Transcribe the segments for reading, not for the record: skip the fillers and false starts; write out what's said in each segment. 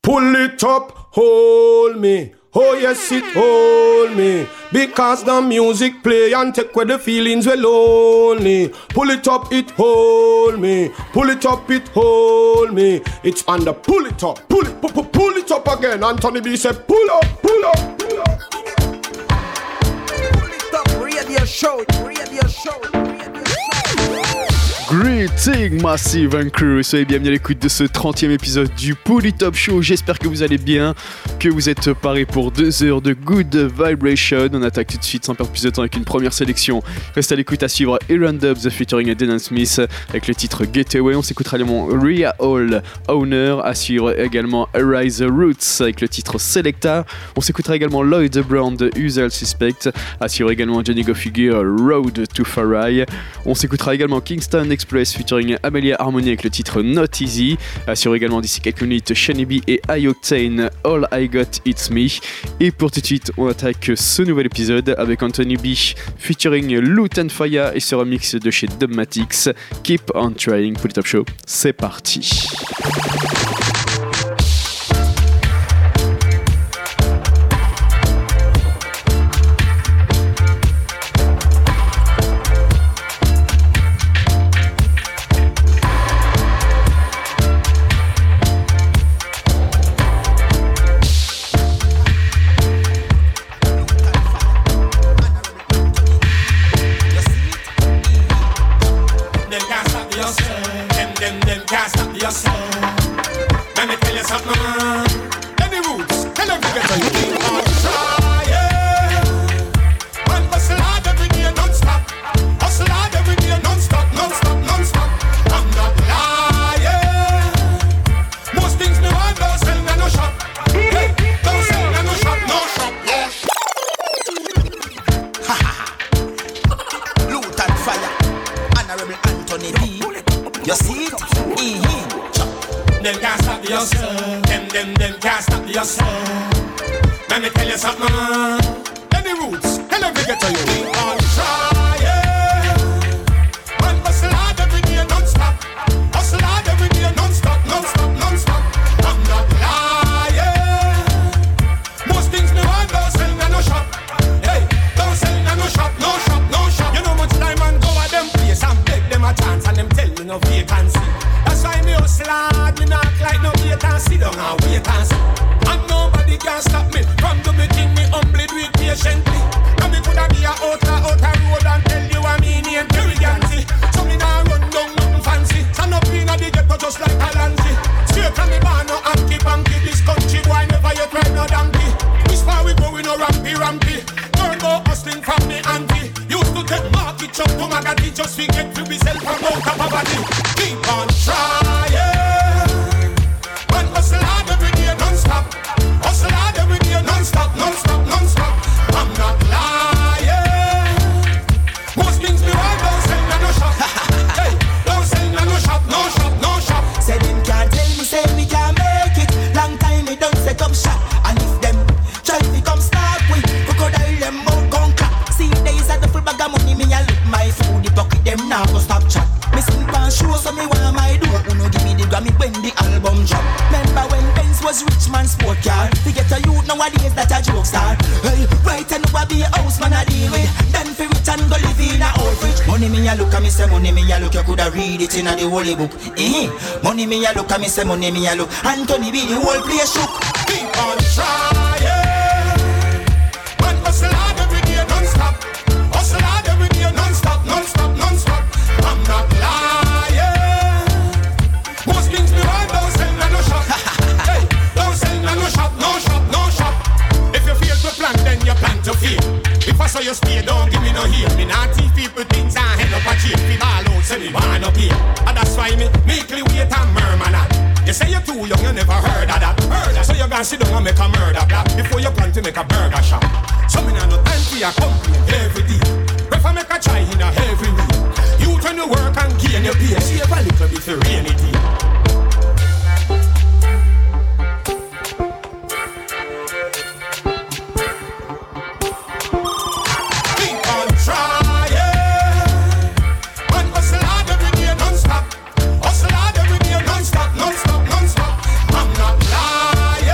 Pull it up, hold me. Oh yes, it hold me. Because the music play and take away the feelings we lonely. Pull it up, it hold me. Pull it up, it hold me. It's on the pull it up, pull it up again. Anthony B said pull up, pull up, pull up. Pull it up, radio show, radio show. Greeting Massive and Crew, soyez bienvenus à l'écoute de ce 30e épisode du Pull It Up Show. J'espère que vous allez bien, que vous êtes parés pour 2 heures de good vibration. On attaque tout de suite sans perdre plus de temps avec une première sélection. Reste à l'écoute, à suivre Aaron Dubs featuring Denon Smith avec le titre Getaway. On s'écoutera également Rhea Hall Owner, à suivre également Arise Roots avec le titre Selecta. On s'écoutera également Lloyd Brown de Usual Suspect, à suivre également Johnny Go Figure Road to Farai. On s'écoutera également Kingston Express featuring Amelia Harmony avec le titre Not Easy. Assure également d'ici quelques minutes Shani B et I-Octane All I Got It's Me. Et pour tout de suite, on attaque ce nouvel épisode avec Anthony B featuring Loot and Fire et ce remix de chez Dubmatics. Keep on Trying. Pull It Up Show, c'est parti. Money me a look, and me say money me a look. Anthony B, the whole place shook. Keep on trying. Man hustle hard every day, non-stop. Hustle hard every day, non-stop, non-stop, non-stop. I'm not lying. Most things me want, don't sell na no shop. Hey, don't sell na no shop, no shop, no shop. If you fail to plan, then you plan to fail. If I saw you stay, don't give me no heel. Me not teach people things I head up a jail. People all out, say me want up here. And that's why me meekly wait and murmur that. You say you're too young, you never heard of that. Murder, so you gonna sit down and make a murder black before you plan to make a burger shop. So me nah no time for your complaint every day. Prefer make a try in a every week. You turn to work and gain your pay. Save a little bit for rainy day. Non-stop, non-stop, non-stop. I'm not lying.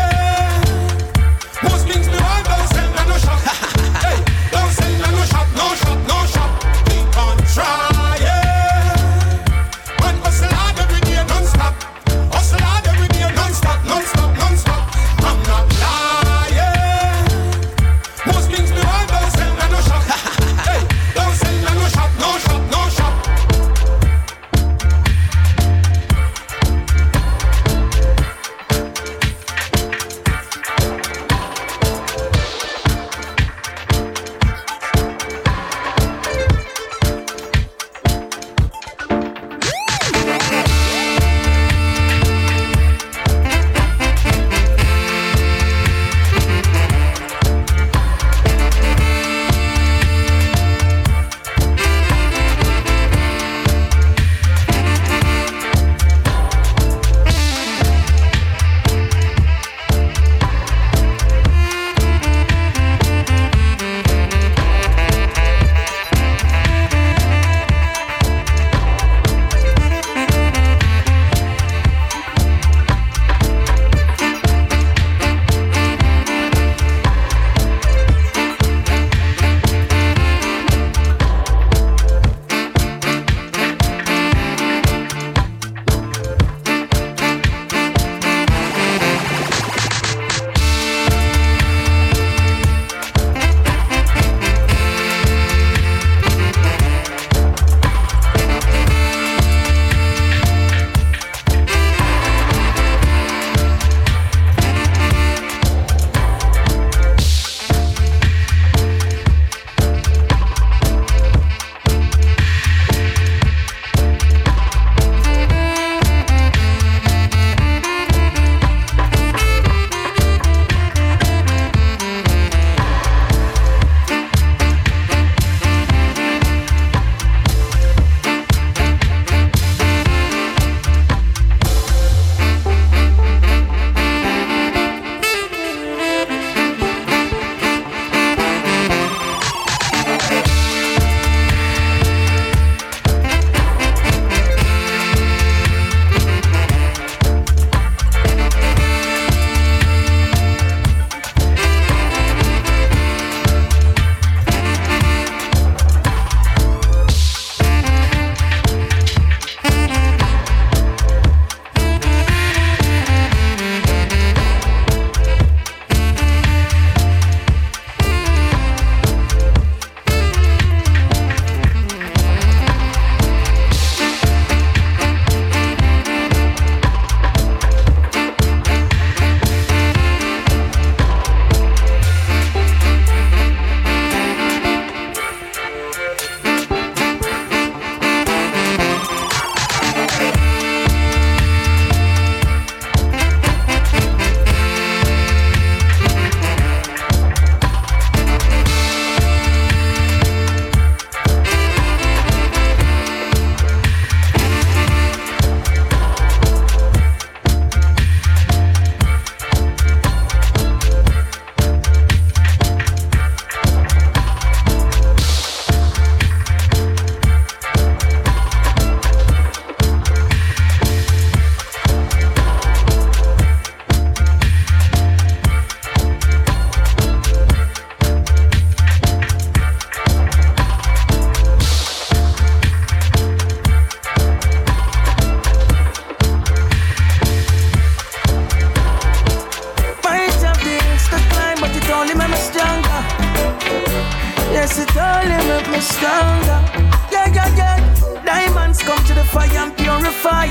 make me stronger. Yeah, yeah, yeah. Diamonds come to the fire and purify.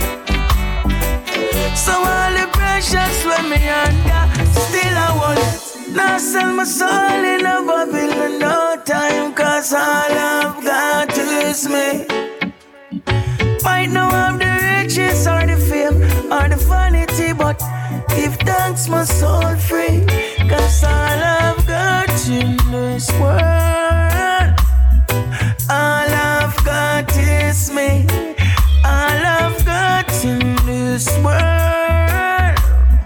So all the pressures when me under, still I won't. Now sell my soul in a Babylon, no time, cause all I've got is me. Might not have the riches or the fame or the vanity, but give thanks my soul free, cause all I've got in this world, all I've got is me. All I've got in this world,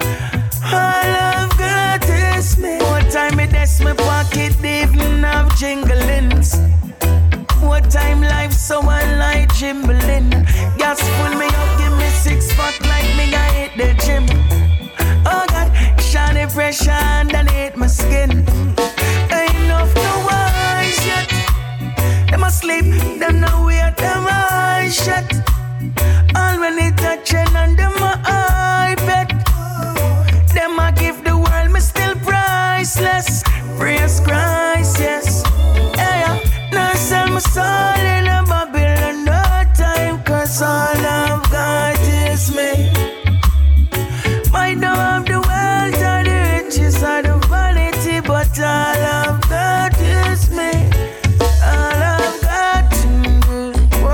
all I've got is me. What time it is my pocket even have jinglings. What time life so unlike jimbling. Gas full me up, give me 6 pack like me I hit the gym. Oh God, shiny pressure underneath my skin. Ain't enough no eyes yet. Them asleep, them no wait, them eyes shut. All when they touching under my iPad. Them I give the world, me still priceless. Praise Christ, yes. Yeah, now sell my soul in a Babylon, no time, cause all I've got is me. Might not have the wealth or the riches or the vanity, but all I've got is me. All I've got in the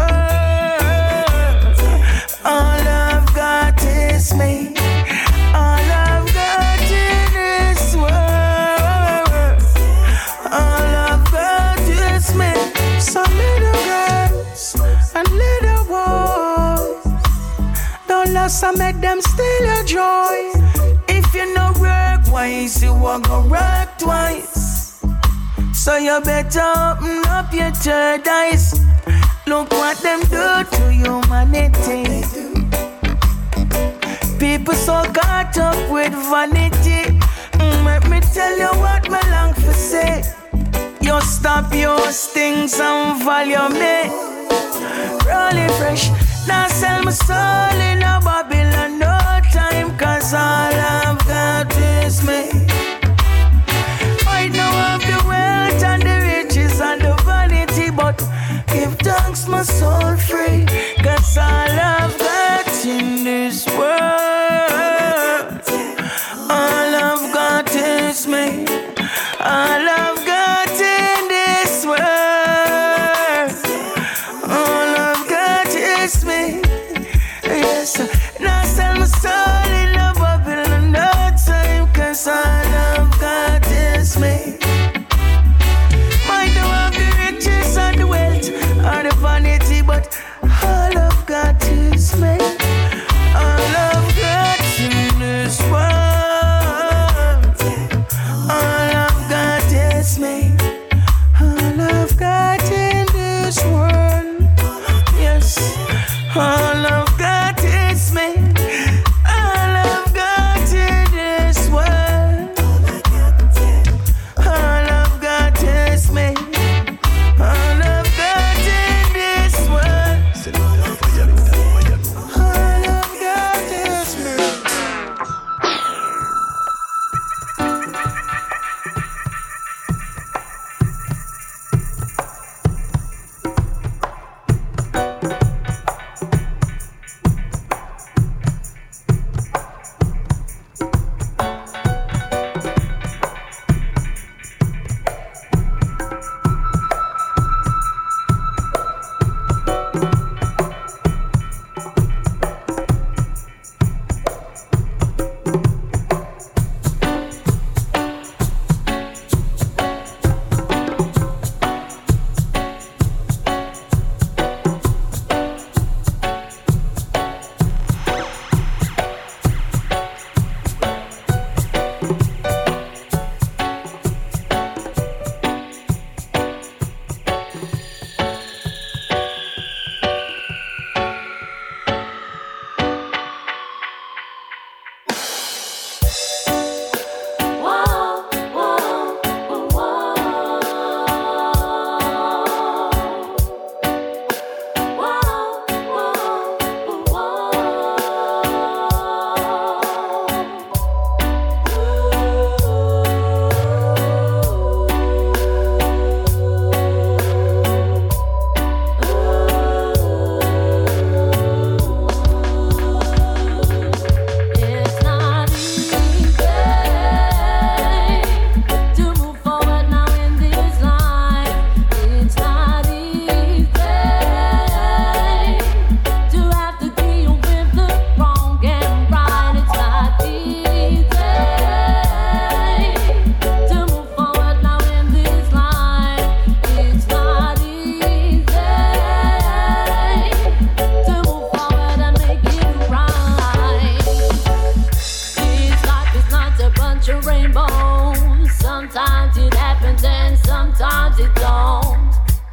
world, all I've got is me. All I've got in this world, all I've got is me. Some little girls and little boys, don't lose and make them steal your joy. If you no work wise, you won't go work twice. So you better open up your third eyes. Look what them do to humanity. People so caught up with vanity. Let me tell you what me long for say. You stop your stings and value me. Rolling fresh, now sell my soul in a Babylon, no time, cause all I've got is me. Might not have the wealth and the riches and the vanity, but give thanks my soul free, cause all I've got in this world, all I've got is me. All I've got in this world, all I've got is me. Yes, now sell my soul in a Babylon, no time, cause all I've got is me. Might not have the riches and the wealth or the vanity, but all I've got is me. All I've got in this world, all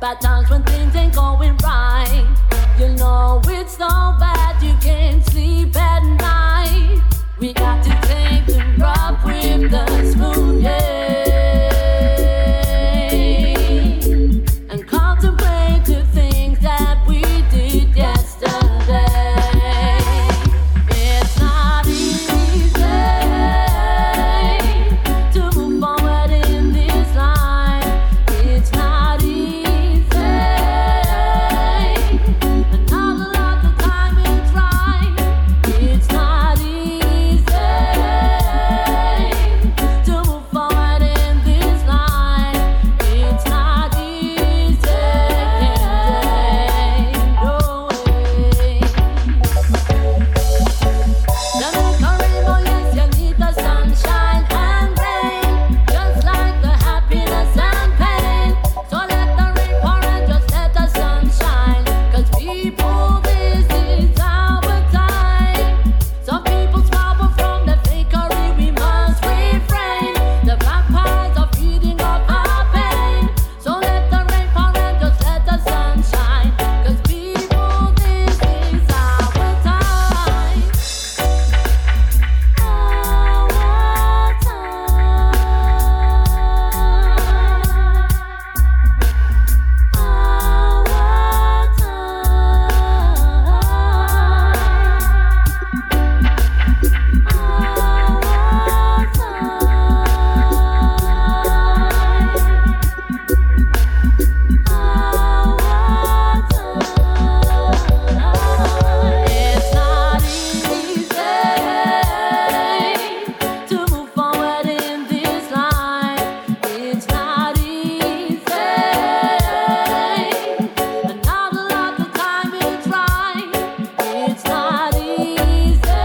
Bad times when things ain't going right. You know it's so bad you can't sleep at night. We got to take the rough with the smooth, and contemplate the things that we did yesterday. It's not easy to move forward in this life. It's not easy, and not a lot of time is right. It's not easy to move forward in this life. It's not easy, no way. Jamaica rainbow, yes, you need the sunshine and rain, just like the happiness and pain. So let the rain pour and just let the sun shine. 'Cause people, this is our time. Some people smile from the fakery, we must refrain. The vampires are feeding off our pain. So let the rain pour and just let the sun shine. 'Cause people, this is our time. It's not easy to move forward in this life. It's not easy, and not a lot of time is right. It's not easy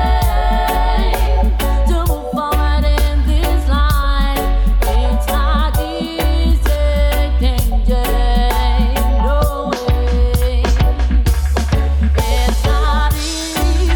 to move forward in this life. It's not easy, no way. It's not easy.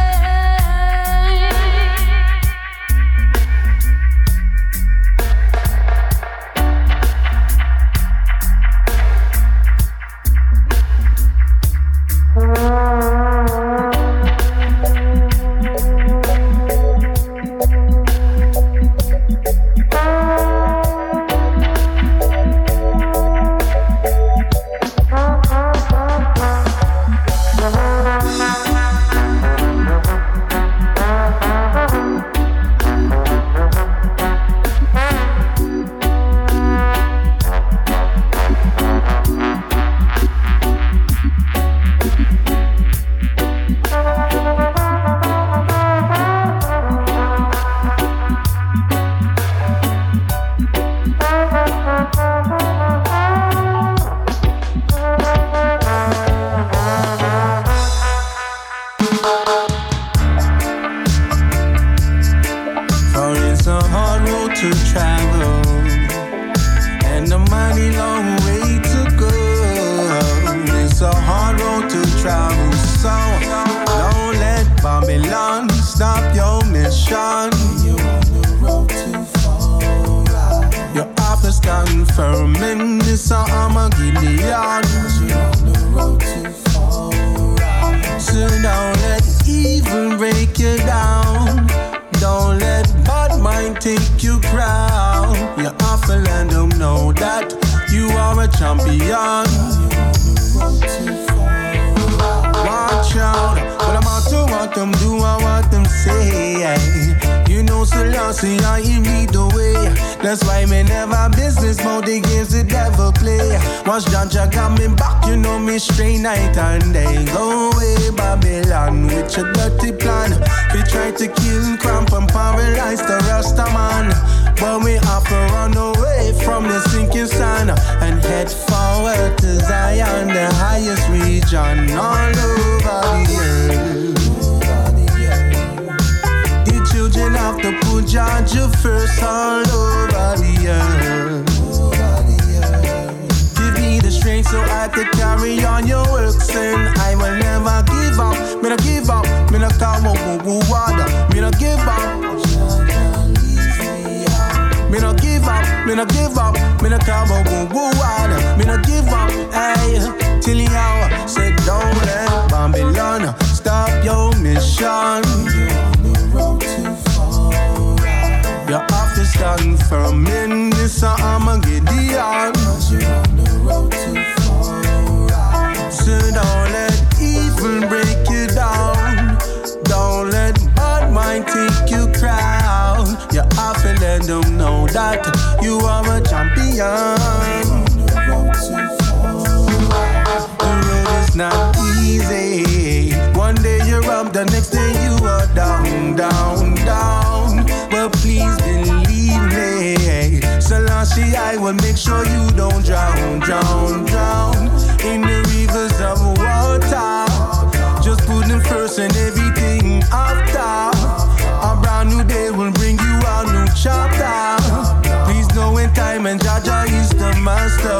For it's a hard road to travel and a mighty long way to go. It's a hard road to travel, so don't let Babylon stop your mission. You're on the road too far. Your office confirming this Armageddon. You're on the road too far. So don't let evil break you down. Don't let bad mind take you crown. You have to let them know that you are a champion. Watch out, but I'm out to what them do and what them say. You know Selassie, I lead the way. That's why me never business about the games the devil play. Once Jaja got me back, you know me straight night and day. Go away Babylon with your dirty plan. We try to kill, cramp and paralyze the Rasta man, but we have to run away from the sinking sun and head forward to Zion, the highest region all over the earth. The children have to put Georgia first all over the earth. Give me the strength so I could carry on your works, and I will never give up. Me no give up, me no come up with water. Me no give up, me no give up. me no give up. Me no talk about woo water. Me no give up, hey. Till the hour, say don't let Babylon stop your mission. You're on the road to fall. Your office stand firm in this Armageddon. Cause you're on the road to fall. So don't let evil break you down. Don't let bad mind take you crown. You have to let them know that you are a champion. The road is not easy. One day you're up, the next day you are down, down, down. But please believe me, Selassie, I will make sure you don't drown, drown, drown in the rivers of water. Just put them first and everything after. A brand new day will bring you a new chapter. Please know in time and Jaja is the master.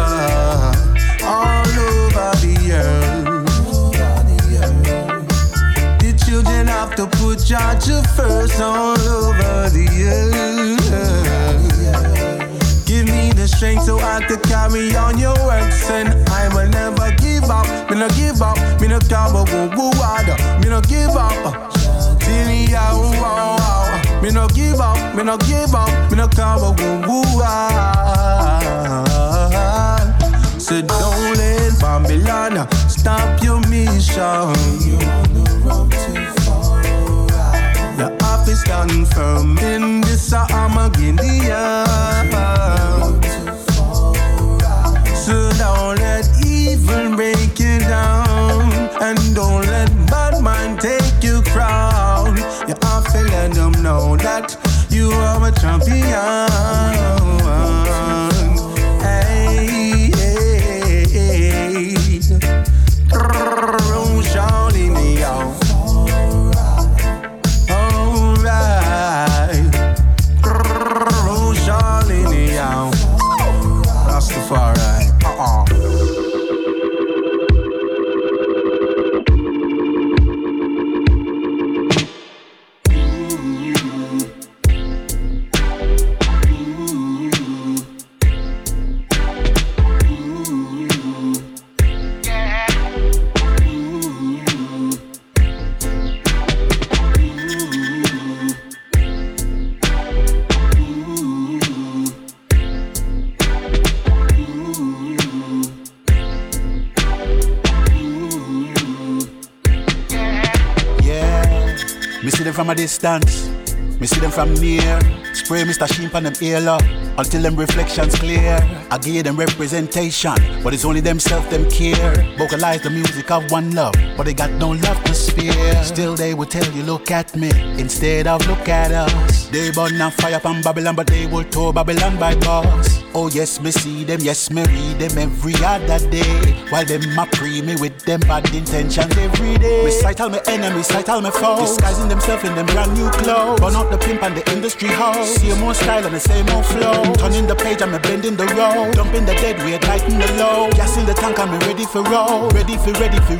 All over the earth. The children have to put Jaja first all over the earth. Give me the strength so I could carry on your works, and I will never give up. Me no give up. Me no talk about woo water. Me no give up. Till the hour. Me no give up. Me no give up. Me no talk about woo water. So don't let Babylon stop your mission. You're on the road to fall. Your office stand firm in this Armageddon. So don't let evil break you down, and don't let bad mind take your crown. You have to let them know that you are a champion. Hey, hey, hey. Shawty me out. Alright. Shawty me out. Rastafari. From a distance, me see them from near. Spray Mr. Sheep on them ear until them reflections clear. I give them representation, but it's only themself them care. Vocalize the music of one love, but they got no love to spare. Still they will tell you look at me instead of look at us. They burn and fire from Babylon, but they will tow Babylon by boss. Oh yes, me see them, yes me read them every other day. While them a pre me with them bad intentions every day. Me sight all my enemies, sight all my foes, disguising themselves in them brand new clothes. Burn out the pimp and the industry hoes. See more style and the same old flow. Turning the page and me bending the road. Dumping the dead weight, lighting the low. Gas in the tank and me ready for roll. Ready for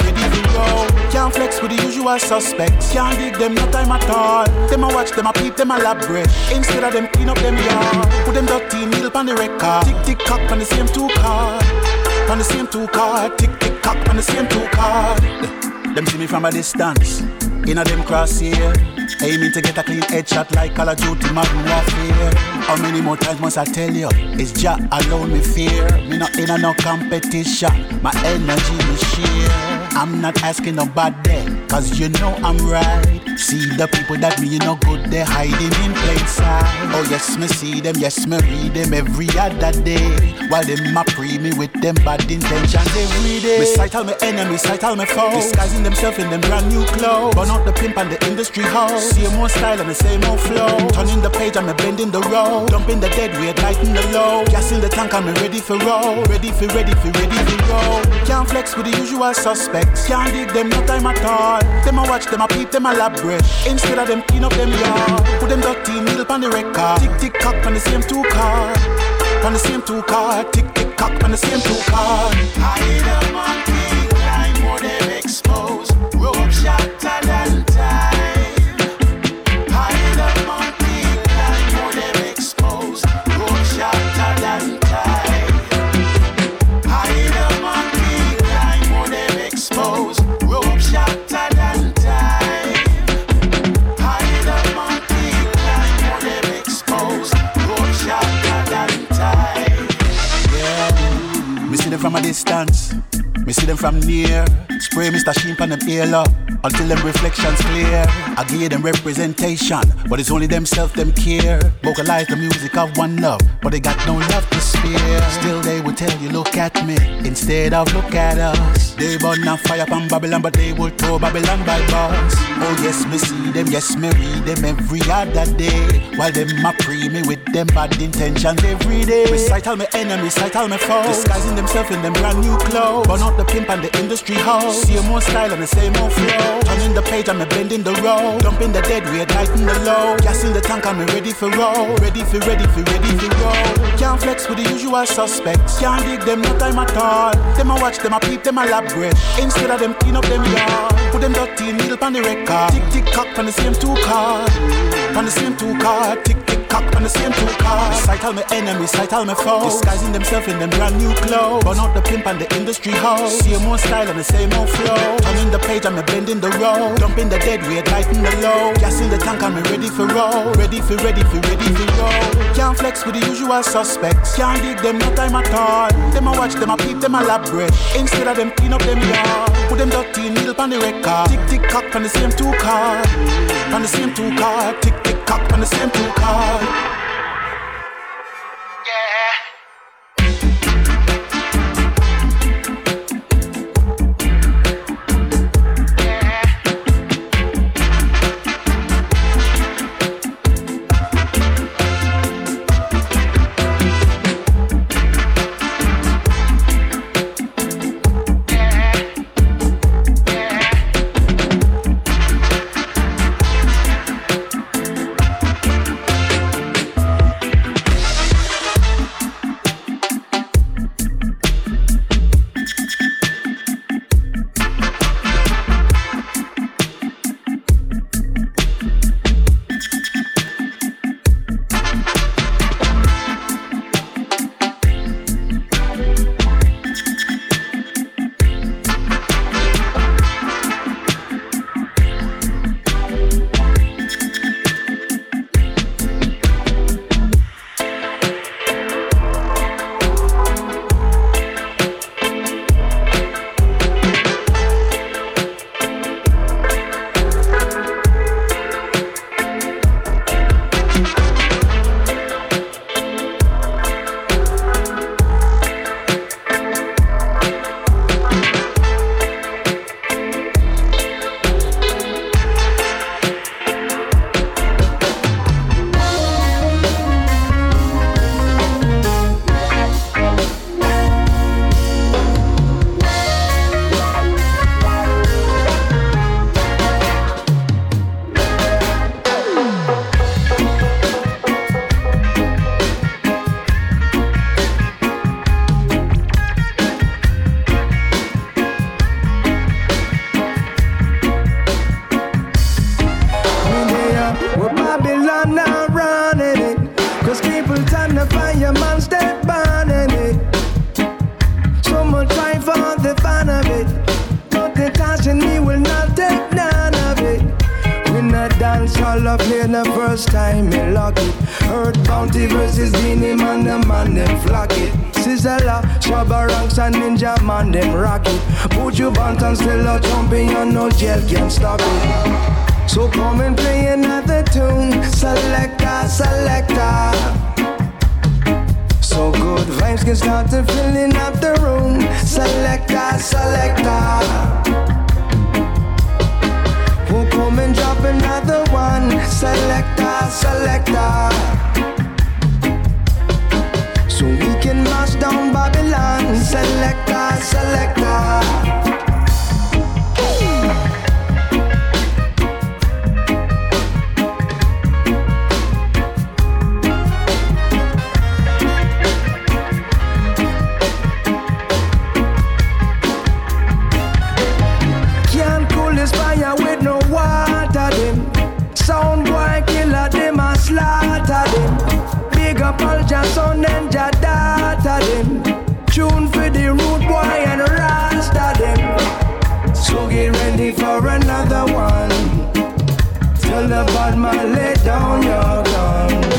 roll. Can't flex with the usual suspects. Can't dig them no time at all. Them a watch, them a peep, them a elaborate. Instead of them clean up them yard. Put them dirty needle on the record. Tick tick cock on the same two card. On the same two card. Tick tick cock on the same two card. Them see me from a distance. Inna them crosshair. Aiming to get a clean headshot like Call of Duty Modern Warfare. How many more times must I tell you? It's Jah alone me fear. Me not in a no competition. My energy me share. I'm not asking nobody, cause you know I'm right. See the people that me you know good, they're hiding in plain sight. Oh yes, me see them, yes me read them every other day. While them a pre me with them bad intentions every day. Me sight all my enemies, sight all my foes, disguising themselves in them brand new clothes. Burn out the pimp and the industry hoes. See more style and the same old flow. Turning the page and me bending the road. Dumping the dead weight, lighting the low. Gas in the tank and me ready for roll. Ready for roll. Can't flex with the usual suspects. Can't dig them no time at all. Them a watch, them a peep, them a elaborate. Instead of them clean up them yard. Put them dirty needle on the record. Tick tick cock on the same two card. On the same two card. Tick tick cock on the same two card. Hide them on big line, more them exposed. Rope shot than time. Hide them on big line, more them exposed. Rope shot from a distance. Me see them from near. Spray Mr. Sheen on them earlock until them reflections clear. I give them representation, but it's only themself them care. Vocalize the music of one love, but they got no love to spare. Still they will tell you look at me instead of look at us. They burn on fire from Babylon, but they will throw Babylon by bus. Oh yes, me see them, yes me read them every other day. While them a pre me with them bad intentions every day. Recite all my enemies, recite all my foes, disguising themselves in them brand new clothes. Burn out the pimp and the industry hoes. See more style and the same old flow. Turning the page and me bending the road. Dumping the dead weight, lighting the low. Gas in the tank and me ready for roll. Ready for roll. Can't flex with the usual suspects. Can't dig them no time at all. Them a watch, them a peep, them a lab breath. Instead of them clean up them yard. Put them dirty needle on the record. Tick tick cock on the same two card. On the same two card. Tick tick cock on the same two card. Sight all my enemies, sight all my foes, disguising themselves in them brand new clothes. Burn out the pimp and the industry hoes. See more style and the same old flow. Turning the page and me bending the road. Dumping the dead weight, lighting the low. Gas in the tank and me ready for roll. Ready for roll. Can't flex with the usual suspects. Can't dig them no time at all. Them a watch, them a peep, them a lab breath. Instead of them clean up them yard. Put them dirty needle on the record. Tick tick cock on the same two card. On the same two card. Tick tick cock on the same two card.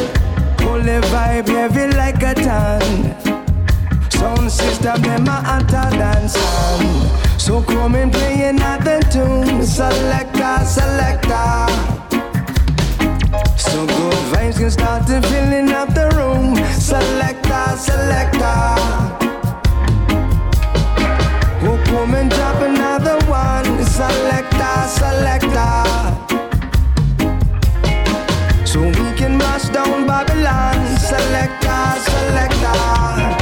Them a selector. So good vibes can start to filling up the room. Selector, selector. Who come and drop another one? Selector, selector. So we can mash down Babylon. Selector, selector.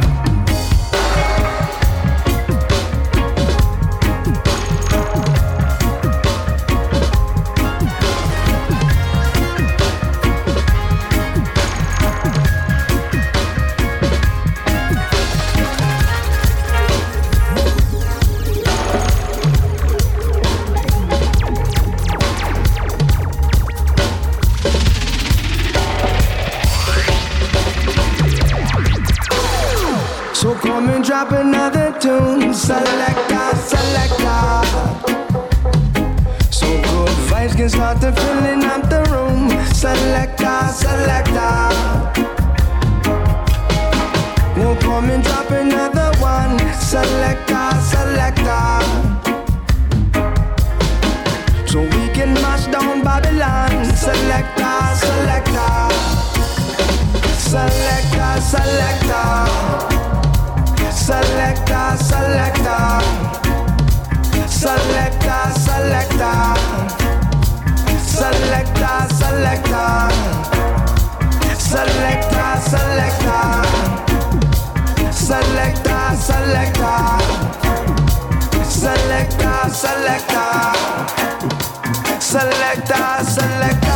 So come and drop another tune. Selector, selector. So good vibes can start to filling up the room. Selector, selector. We'll come and drop another one. Selector, selector. So we can mash down Babylon. Selector, selector. Selector, selector. Selector, selector. Selector, selector. Selector, selector. Selector, selector. Selector, selector. Selector, selector. Selector, selector.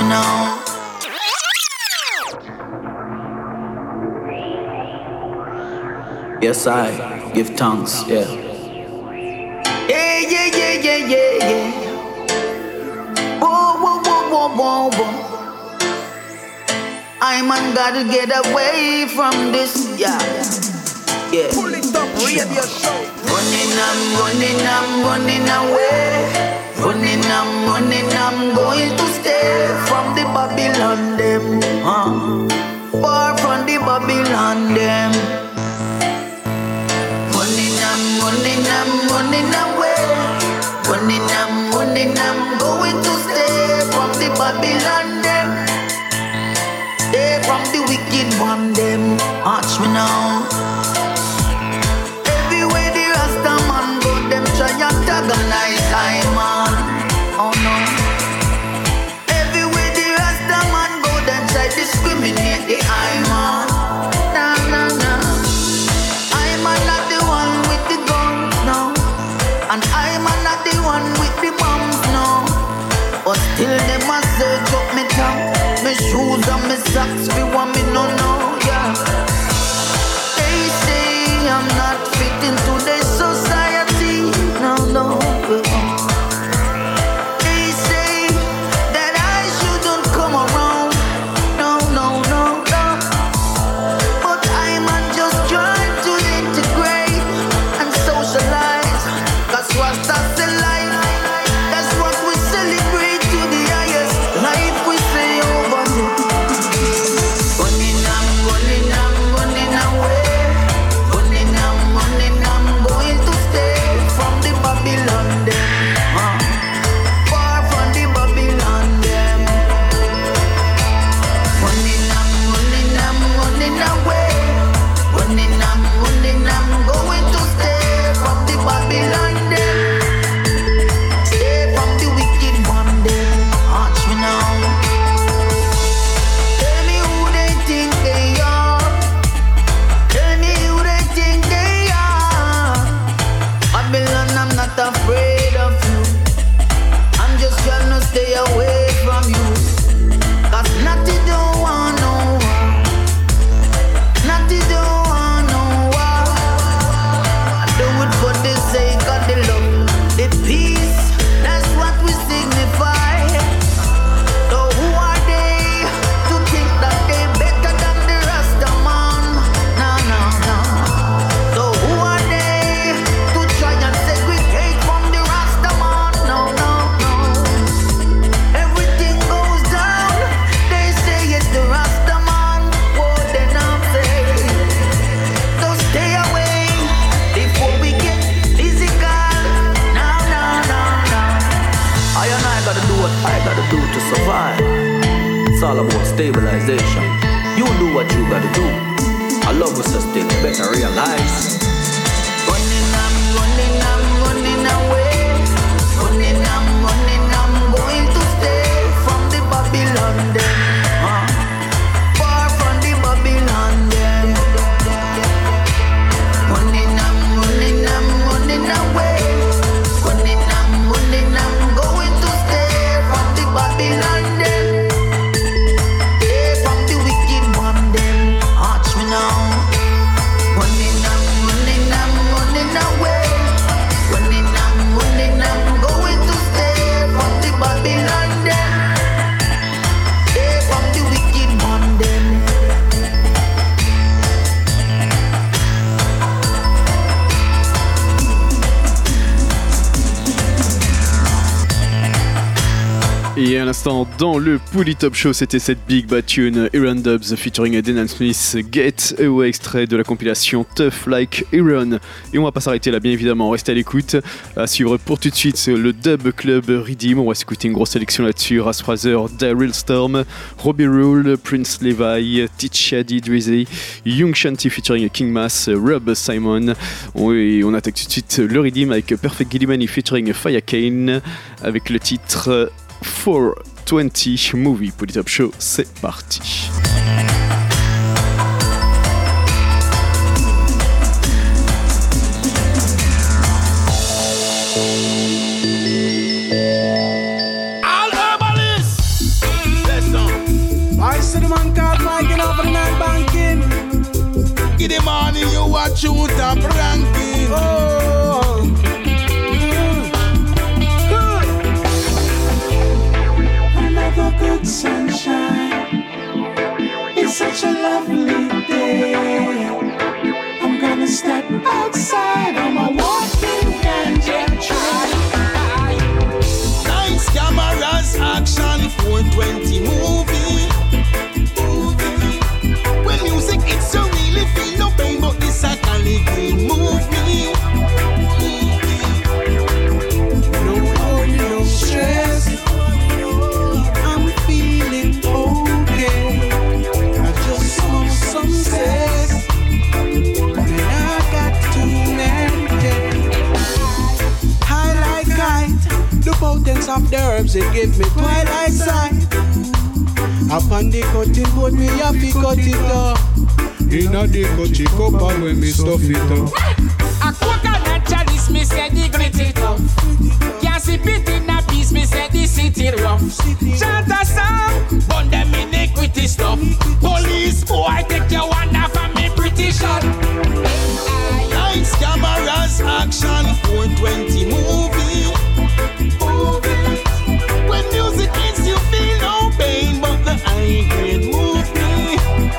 now. Yes, I give thanks, yeah. Yeah. Whoa. I man gotta get away from this, yeah. Pull it up, radio show. Running away. Running, I'm going to stay from the Babylon them. Far from the Babylon them. Running away. Running, I'm going to stay from the Babylon them. Stay from the wicked one them. Watch me now. Everywhere the Rasta man go, them try and antagonize I man. Oh no. Everywhere the Rasta man go, them try discriminate the I man. Nah. I man not the one with the guns, no. And I man not the one with the bombs, no. But still them a search up me tongue, me shoes and me socks, we want me no, yeah. They say I'm not fit into their society, no. They say that I shouldn't come around, no. But I'm just trying to integrate and socialize, 'cause Rasta's the life, that's what we celebrate to the highest life we say over here. Running away. Running, I'm going to stay from the Babylon them. Far from the Babylon them. Running away. Running, I'm going to stay from the Babylon them. Stay from the wicked one them. Watch me now. Tell me who they think they are. Tell me who they think they are. Babylon, I'm not afraid of you. I'm just trying to stay away from you. 'Cause Natty don't want no war. Natty don't want no war. I do it for the sake of the love, the peace. That's what we signify. So who are they to think that they better than the Rasta man? No. So who are they to try and segregate from the Rasta man? No. Everything goes down. They say it's the Rasta man. What then I'm saying? So stay away before we get physical. No. I gotta do what I gotta do to survive. It's all about stabilization. You do what you gotta do. I love us still, better realize. Running away. Running, I'm going to stay from the Babylon them. Far from the Babylon them. Running away. Running, I'm going to stay from the Babylon them. Stay from the wicked one them. Watch me now. Running away. Running, I'm going to stay from the Babylon them. Stay from the wicked one them. Et à l'instant, dans le Pouli Top Show, c'était cette big bad tune Aaron Dubs featuring Denan Smith, Get Away, extrait de la compilation Tough Like Aaron. Et on va pas s'arrêter là, bien évidemment, restez à l'écoute. À suivre pour tout de suite, c'est le Dub Club Redeem. On va s'écouter une grosse sélection là-dessus. Ras Fraser, Daryl Storm, Robbie Rule, Prince Levi, T-Shady Drizzy, Young Shanty featuring King Mass, Rob Simon. Et on attaque tout de suite le Redeem avec Perfect Gillimani featuring Fire Kane avec le titre 420 Movie. Pouli Top Show, c'est parti. All herbalists, let's watch you top ranking. Oh. Another good sunshine. It's such a lovely day. I'm gonna step outside on my walking ganja trail. Nice cameras, action, 420 movie. When music it's so really feel no pain, but this I can live move me. No worry, no stress. I'm feeling okay. I just want some sex, and I got to maintain. High like kite, the potence of the herbs it give me twilight sight. Up on the cutting board, me have to cut it up. Inna the coachy cup and when me stuff it up. A coconut chalice, me say the grit it up. Can't sip it in a piece, me say the city rough. Chant a song, burn them iniquity stuff. Police boy, take your one off of me pretty shot. Lights, cameras, action, 420 movie. When music hits you feel no pain, but the high grade move me.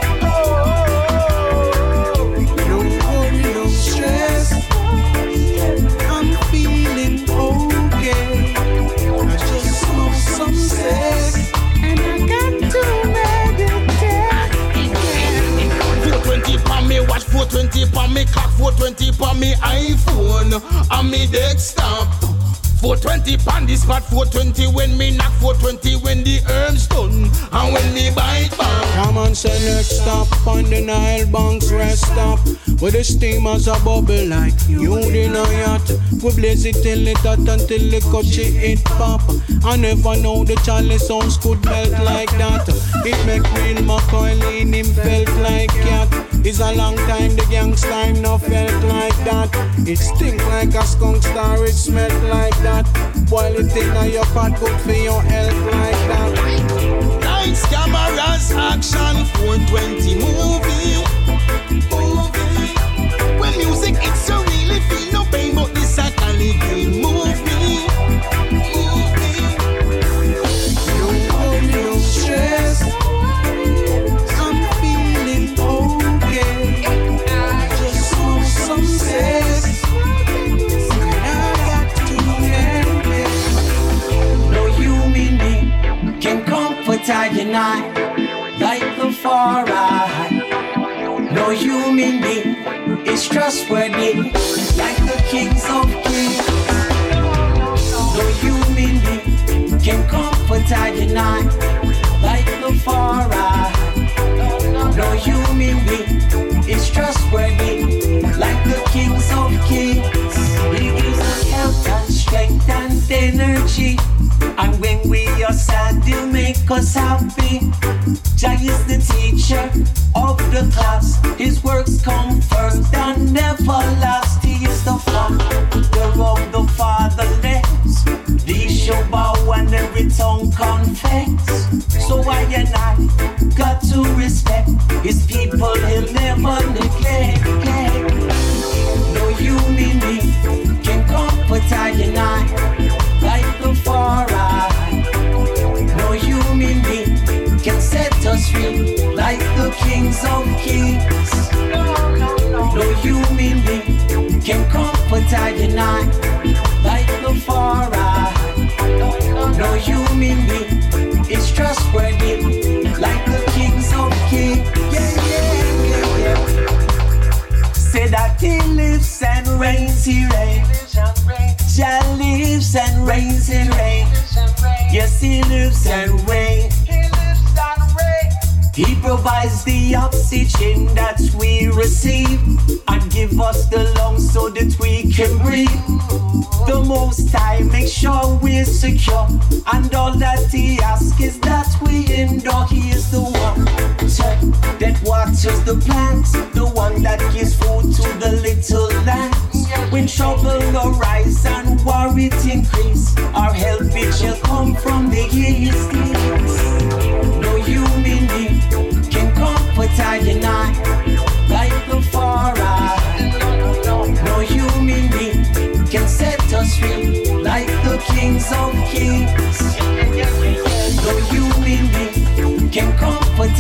No worry, no stress. I'm feeling okay. I just want some sex, and I got to meditate. 420 pa me watch, 420 pa me clock, 420 pa me iPhone, and me desktop. 420 pan the spot, 420 when me knock, 420 when the herbs done, and when me bite back. Come on, select stop on the Nile banks, rest stop. With the steamers a bubble like you in a yacht. We blaze it till it hot until the coachy it pop. I never know the chalice sounds could melt like that. It make Real McCoy in him felt like cat. It's a long time the gangsta time no felt like that. It stink like a skunk star, it smell like that. Boil it in your pot, good for your health like that. Lights, cameras, action, 420 movie. When music it's so really feel no pain, but this I can live move me. No worry, no stress. I'm feeling okay. I just want some sex, and I got to end it. No human being can comfort I unite like the far right. No human being is trustworthy like the kings of kings. No human being can comfort I unite like the far right. No human being is trustworthy like the kings of kings. He gives us health and strength and energy, and when we are sad, he'll make us happy. Jah is the teacher of the class. His works come first and never last. He is the father of the fatherless. These shall bow and every tongue confess. So I and I got to respect his people. He'll never neglect. No human being can comfort I and I like the far right. No human being can set us free like the kings of kings. No human being can comfort I and I like the far right. No human being is trustworthy like the kings of kings. Say that he lives and reigns, he reigns. Jah lives and reigns, he reigns. Yes, he lives and reigns. He provides the oxygen that we receive and give us the lungs so that we can breathe. The Most High makes sure we're secure, and all that He asks is that we endure. He is the one that waters the plants, the one that gives food to the little lambs. When trouble arise and war it increase, our help it shall come from the east. No human being can comfort I and I like the far right.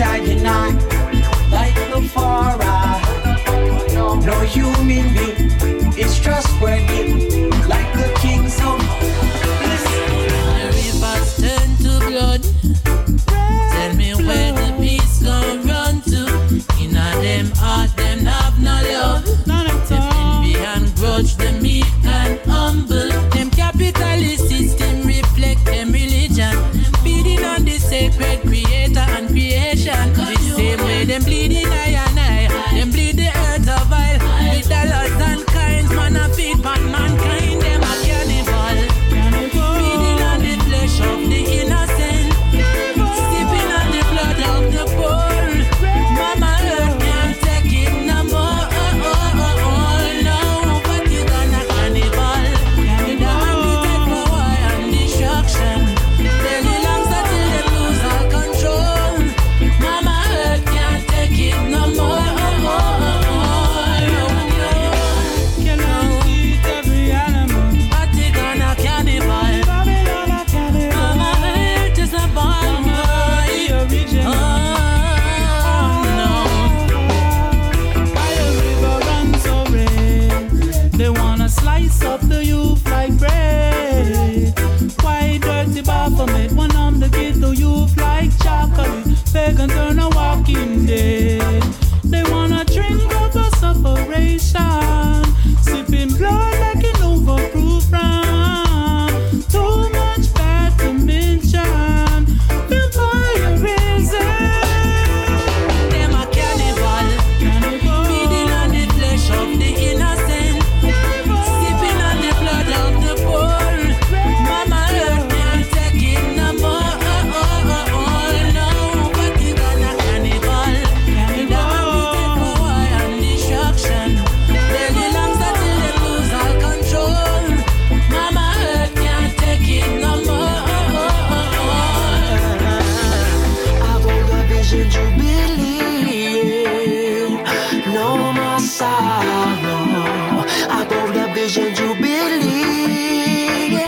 comforter unite like the far right. No human being is trustworthy like the kings of bliss. The rivers turn to blood. Tell me where the peace gon' run to. In a them heart, them have no love. Them envy and grudge, them meek and humble. Them capitalist system reflect them religion. Feeding on the sacred creator and creation. The same way them bleeding eye and eye. Them bleed the earth of vile. With dollars and kinds, man a feed on mankind. Them a cannibal. Feeding on the flesh of the innocent. Sipping on the blood of the poor. Mama earth can't take it no more. No, but you gonna cannibal. You don't appetite for war and destruction. Daily longs until they lose all control. Mama earth can't take it no more. Slice up the youth like bread. Why dirty Baphomet? One arm the ghetto youth like chocolate. Pagan turn a walking dead. They wanna drink up a separation. Sipping blood like an overproof rum. Too much bad to mention. Vampirism. Them a cannibal. Feeding on the flesh of the innocent. Sipping on the blood of the poor. Mama earth can't take it no more. No, but you gonna cannibal. You don't appetite for war and destruction. Daily longs until they lose all control. Mama earth can't take it no more. About the vision jubilee, no more sorrow. About the vision jubilee,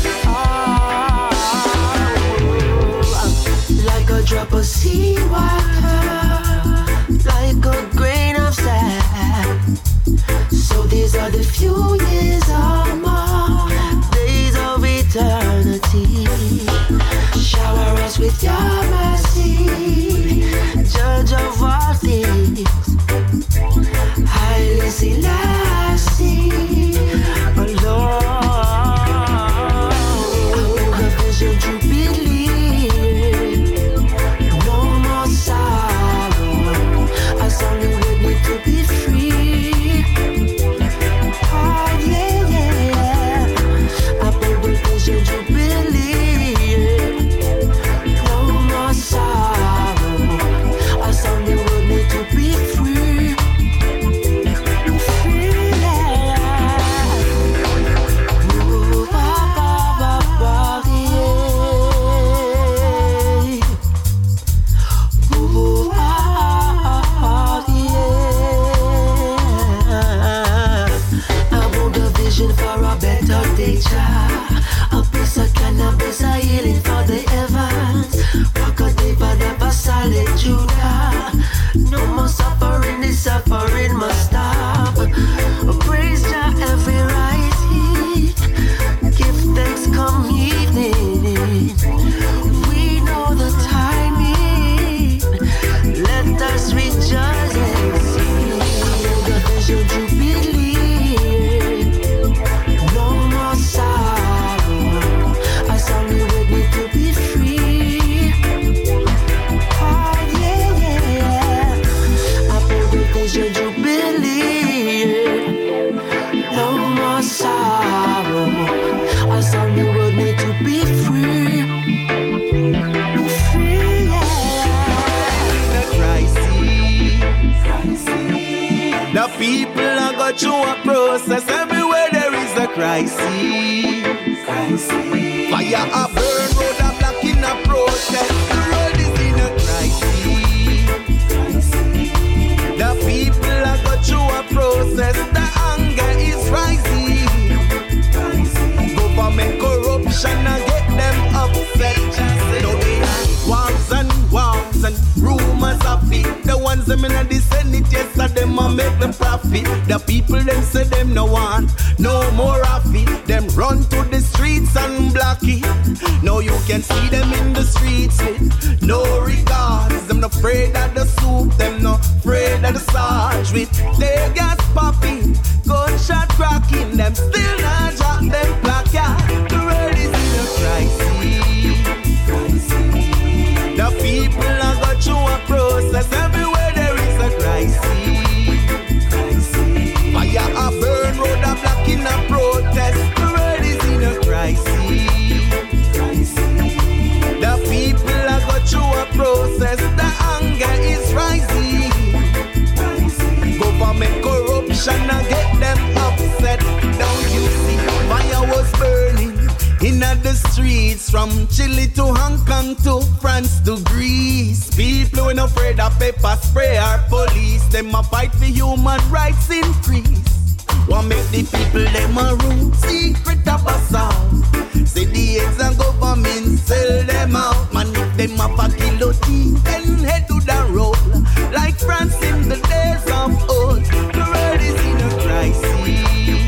like a drop of seawater, like a grain of sand. So these are the few years or more, days of eternity. Shower us with your mercy, Judge of all things. Haile Selassie, Lord. The vision jubilee, no more sorrow. As only we need to be free. Oh yeah, yeah. About the vision jubilee, no more sorrow. As only we need to be free. Free, yeah. Ooh, ba, ba, ba, ba, yeah. Ooh, ba, yeah. I want a vision for a better nature. A piece of cannabis, a healing for the heavens. Rock a diva, never solid Judah. No more suffering, the suffering must stop. Praise Jah every rising. Give thanks come evening. We know the timing. Let us rejoice and sing. The vision jubilee, no more sorrow. As only we need to be free. Oh yeah, yeah. About the vision jubilee, no more sorrow. As only we need to be free. Free, yeah. The crisis. The people are going through a process. Everywhere there is a crisis. Fire a burn, road a block in a protest. The road is in a crisis. The people are going through a process. The anger is rising. Government corruption and get them upset. No, they have wars and wars and rumors the profit. The people them say them no want no more of it. Them run to the streets and block it. Now you can see them in the streets with no regards. Them not afraid of the soup, them not afraid of the sarge. With their gas popping, gunshot cracking, them still not drop them placard. The world is in a crisis. The people are going through a process. Everywhere there is a crisis. Fire a burn, road a block in a protest. The world is in a crisis. The people are going through a process. The anger is rising. Government corruption and get them upset. Don't you see? Fire was burning in the streets from Chile to Hong Kong to France to Greece. People ain't afraid of pepper spray or police. Them a fight for human rights increase. Want make the people them a rule secret of a sound. Say the eggs and government sell them out. Man if them have a guillotine then head to the road. Like France in the days of old. The world is in a crisis.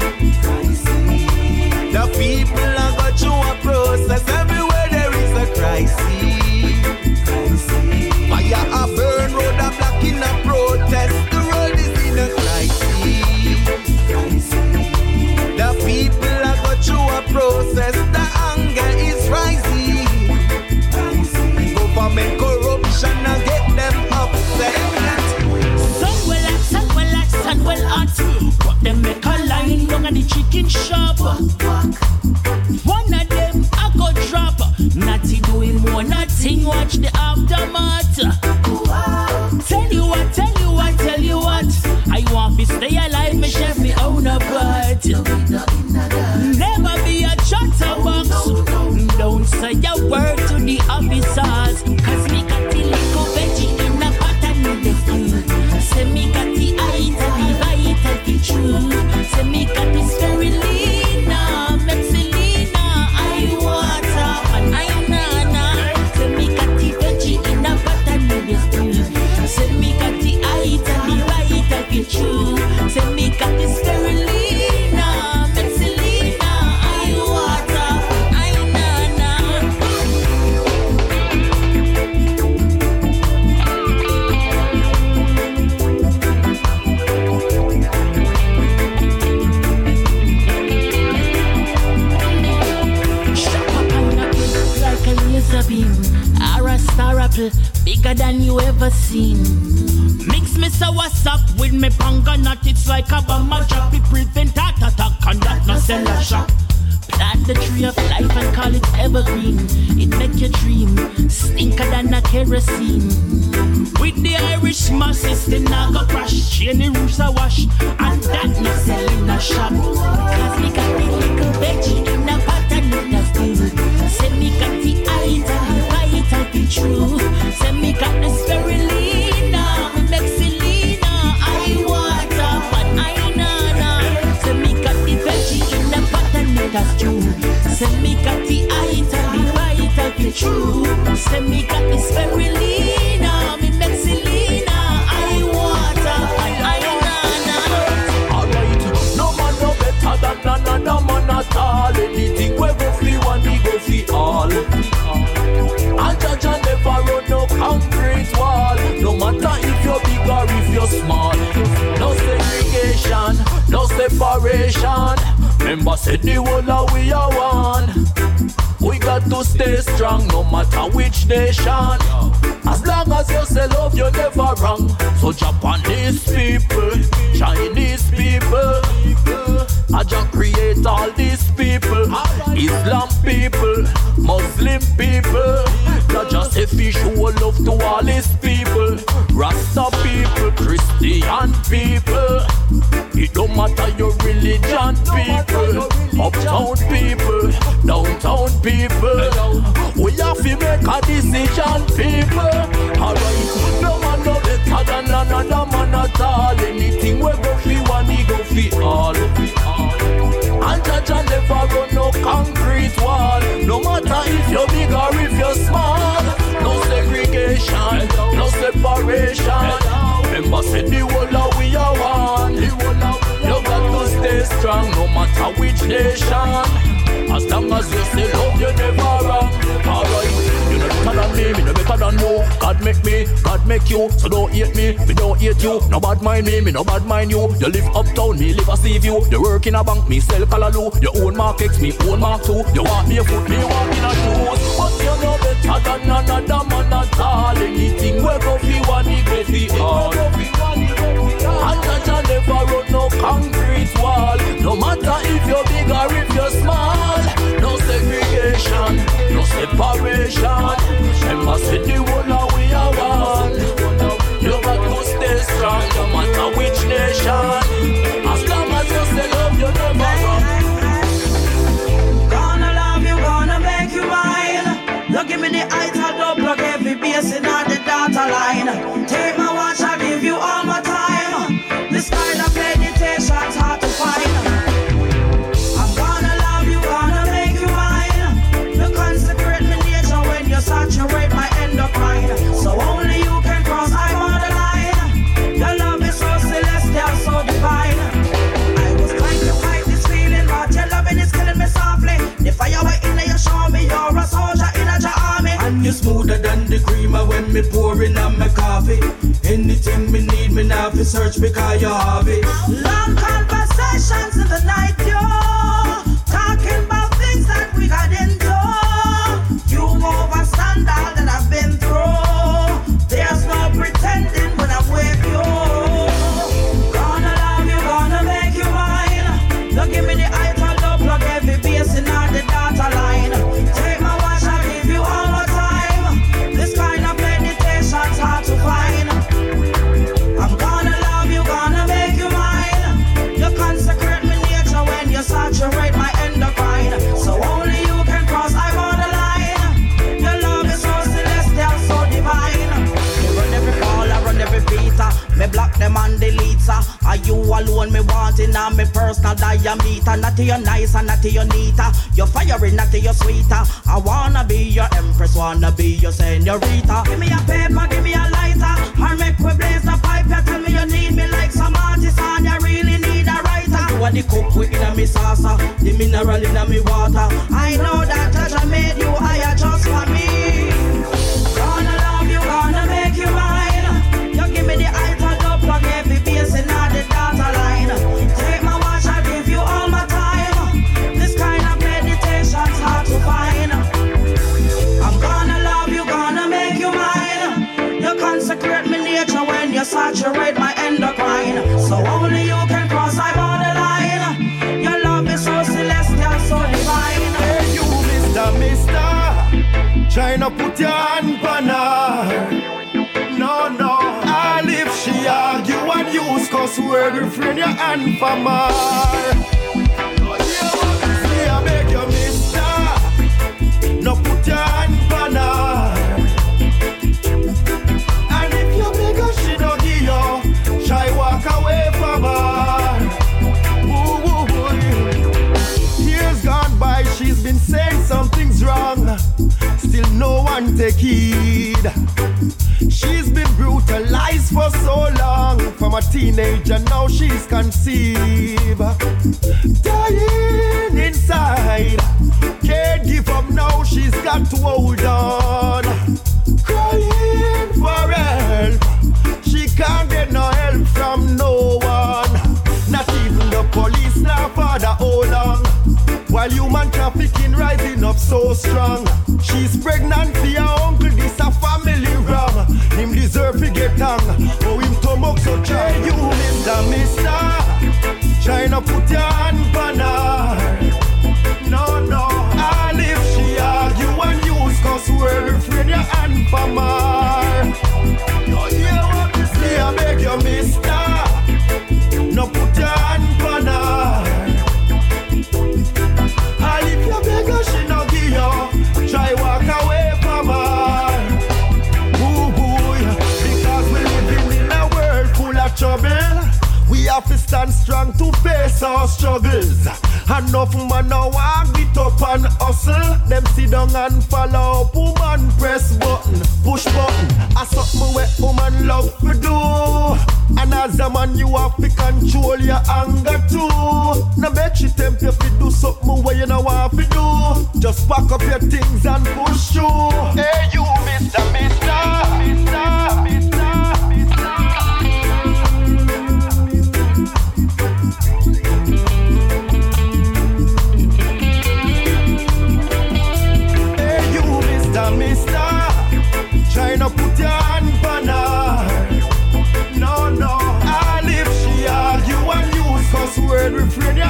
The people are going through a process. Everywhere there is a crisis. Fire a burn, road a block in a protest. The world is in a crisis. The people are going through a process. The anger is rising. Government corruption and get them upset. Sun well hot. But them make a line down at the chicken shop. One of them I go drop. Natty doing more nothing. Watch the aftermath. Tell you what. I want to stay alive. Me chef me own a part. Never be a chatterbox. Don't say a word to the officers. Cause me got the little veggie in the pot and in the food. Say me got the item, the vital, the true. Say me got the spirulina, Mexilina, I water, and I nana. Say me got the veggie in the pot and in the food. Say me got the item, the vital, the true. Say me got the spirulina, Mexilina, I water, and I nana. Like a laser beam, or a star apple, bigger than you ever seen. Mix me what's up with me panga nut, it's like a bomb drop. It prevent heart attack and that no sell a shock. Plant the tree of life and call it evergreen. It make you dream, stinker than a kerosene. With the Irish masses, the naga crash, chainy roofs a wash, and that no sell in a shop. Cause me got the little veggie in a pot and in a food. Say me got the item, the vital, the true. Say me got the spirulina, the Mexilina, I water, but I nana. Say me got the veggie in a pot and in a stew. Say me got the item, the vital, the true. Say me got the spirulina, the Mexilina, I water, but I nana. Alright, no man no better than another man at all. Anything we go free one, we go free all. And judge and never run no concrete wall. No matter if you're big or if you're small. No segregation, no separation. Remember said the whole of we are one. We got to stay strong no matter which nation. As long as you say love, you're never wrong. So Japanese people, Chinese people, I just create all these people. Islam people, Muslim people, not just if you show love to all these people. Rasta people, Christian people, it don't matter your religion people. Uptown people, downtown people, we have to make a decision people. Alright, no man no better than another man at all. Anything we go for one, we go for all. And judge and never run no concrete wall. No matter if you're big or if you're small. No segregation, no separation. Remember said the whole of we are one. God make me, God make you. So don't hate me don't hate you. No bad mind me no bad mind you. You live uptown, me live a sea view. You work in a bank, me sell Callaloo. You own Mark X, me own Mark 2. You walk me a foot, me walk in a shoes. But you know better than another man at all. Anything we go fi one, he go fi all. And Jaja never run no concrete wall. No matter if you're big or if you're small. No segregation, no separation. Remember say the whole of we are one. You got to stay strong, no matter which nation. As long as you say love, you never run. Gonna love you, gonna make you mine. You give me the height, I'll double plug every basin on the data line. Take my watch, I'll give you all my time. This kind of meditation's hard to find. I'm gonna love you, gonna make you mine. You consecrate my nature when you saturate my endocrine. So only you can cross, I'm on the line. Your love is so celestial, so divine. I was trying to fight this feeling, but your loving is killing me softly. The fire we're in there, you show me you're a soldier in a army. And you're smoother than the creamer when me pouring on my coffee. Anything me need, me now fi search because you have it. Long conversations in the night, yo. Talking about things that we got into. You overstand all that I've been through. There's no pretending when I'm with you. Gonna love you, gonna make you mine. Don't give me the height, I'll plug every basin on the data line. Take my watch, I'll give you all my time. This kind of meditation's hard to find. I'm gonna love you, gonna make you mine. You consecrate my nature when you saturate my endocrine. So only you can cross, I'm on the line. Your love is so celestial, so divine. Me run every call, I run every beater. Me block them and delete her. Are you alone me wanting on me personal diameter? Not to your nice and not to your neater. You're firing, not to your sweeter. I wanna be your empress, wanna be your senorita. Give me a paper, give me a lighter. Or make we blaze the pipe. You tell me you need me like some artist and you really need a writer. You are the cook we in a me salsa, the mineral in a me water. I know that Jaja made you higher just for me. Gonna love you, gonna make you mine. You give me the height, I'll plug every basin on the data line. Take my watch, I'll give you all my time. This kind of meditation's hard to find. I'm gonna love you, gonna make you mine. You consecrate my nature when you saturate my endocrine. So only you can cross, I'm on the line. Your love is so celestial, so divine. Hey you, Mr. Tryna put your hand on her. No, all if she argue and use cuss word, refrain your hand from her. See, I beg you, mister, no put your hand on her. And if you beg her, she don't give you, shy walk away from her. Years gone by, she's been saying something's wrong. Still no one take heed. She's been brutalized for so long. From a teenager now she's conceived. Dying inside. Can't give up now, she's got to hold on. Crying for help. She can't get no help from no one. Not even the police, now father, hold on. While human trafficking rising up so strong. She's pregnant for your uncle, this a family wrong. Him deserve to get hung, oh him stomach so dry. You mister, tryna put your hand on her. No, all if she argue and use cuss word, refrain your hand from her. No, hear what me say, I beg you mister, no put your hand on her. And if you beg her, she no give you, try walk away from her. Ooh boy, because we living in a world full of trouble. We have to stand strong to face our struggles. Enough man now walk it up and hustle. Them sit down and follow up, woman press button, push button. I something where woman love to do. And as a man you have to control your anger too. No make she tempt you to do something where you know what to do. Just pack up your things and push through. Hey you mister,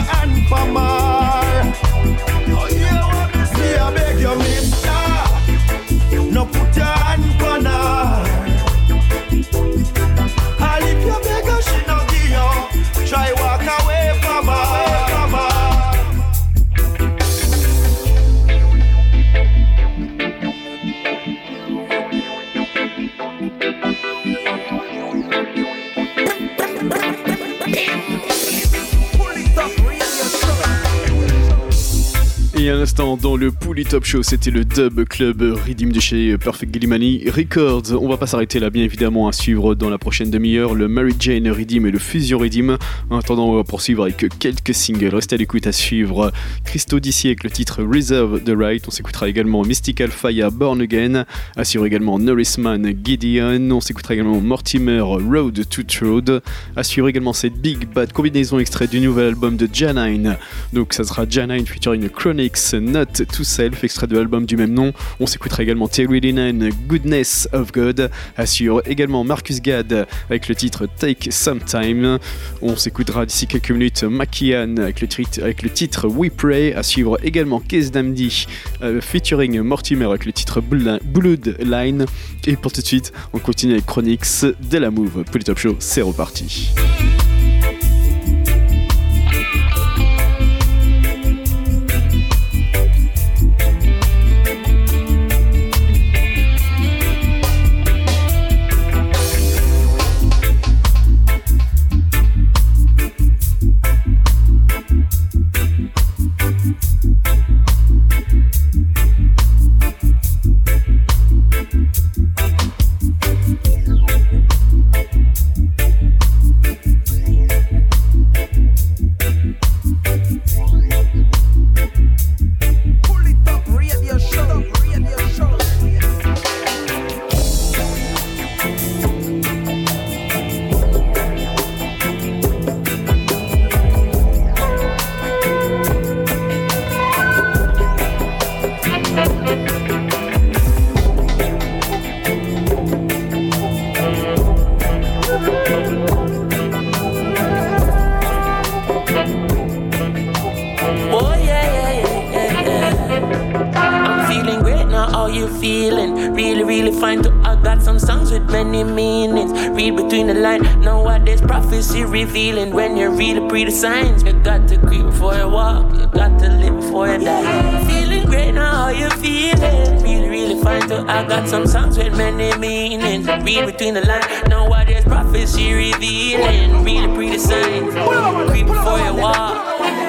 hand for more. Me I beg you, mister, no put your hand on her. And if you beg her, she no give you. Try walk away from her. Et à l'instant, dans le Pouli Top Show, c'était le Dub Club Rhythm de chez Perfect Gillimani Records. On va pas s'arrêter là, bien évidemment, à suivre dans la prochaine demi-heure le Mary Jane Rhythm et le Fusion Rhythm. En attendant, on va poursuivre avec quelques singles. Restez à l'écoute à suivre Christo d'ici avec le titre Reserve the Right. On s'écoutera également Mystical Fire Born Again. À suivre également Norrisman Gideon. On s'écoutera également Mortimer Road to Road. À suivre également cette Big Bad combinaison extrait du nouvel album de Janine. Donc ça sera Janine featuring Chronics, Not to Self, extrait de l'album du même nom. On s'écoutera également Terry Linen, Goodness of God. À suivre également Marcus Gad avec le titre Take Some Time. On s'écoutera d'ici quelques minutes Makian avec le titre We Pray. À suivre également Case Damdi featuring Mortimer avec le titre Bloodline. Et pour tout de suite, on continue avec Chronics de la Move. Pour le Top Show, c'est reparti. Revealing when you read the signs. You got to creep before you walk, you got to live before you die. Feeling great now, how you feeling? Really, really fine too. I got some songs with many meanings. Read between the lines, know what there's prophecy revealing. Read the signs, creep before you walk.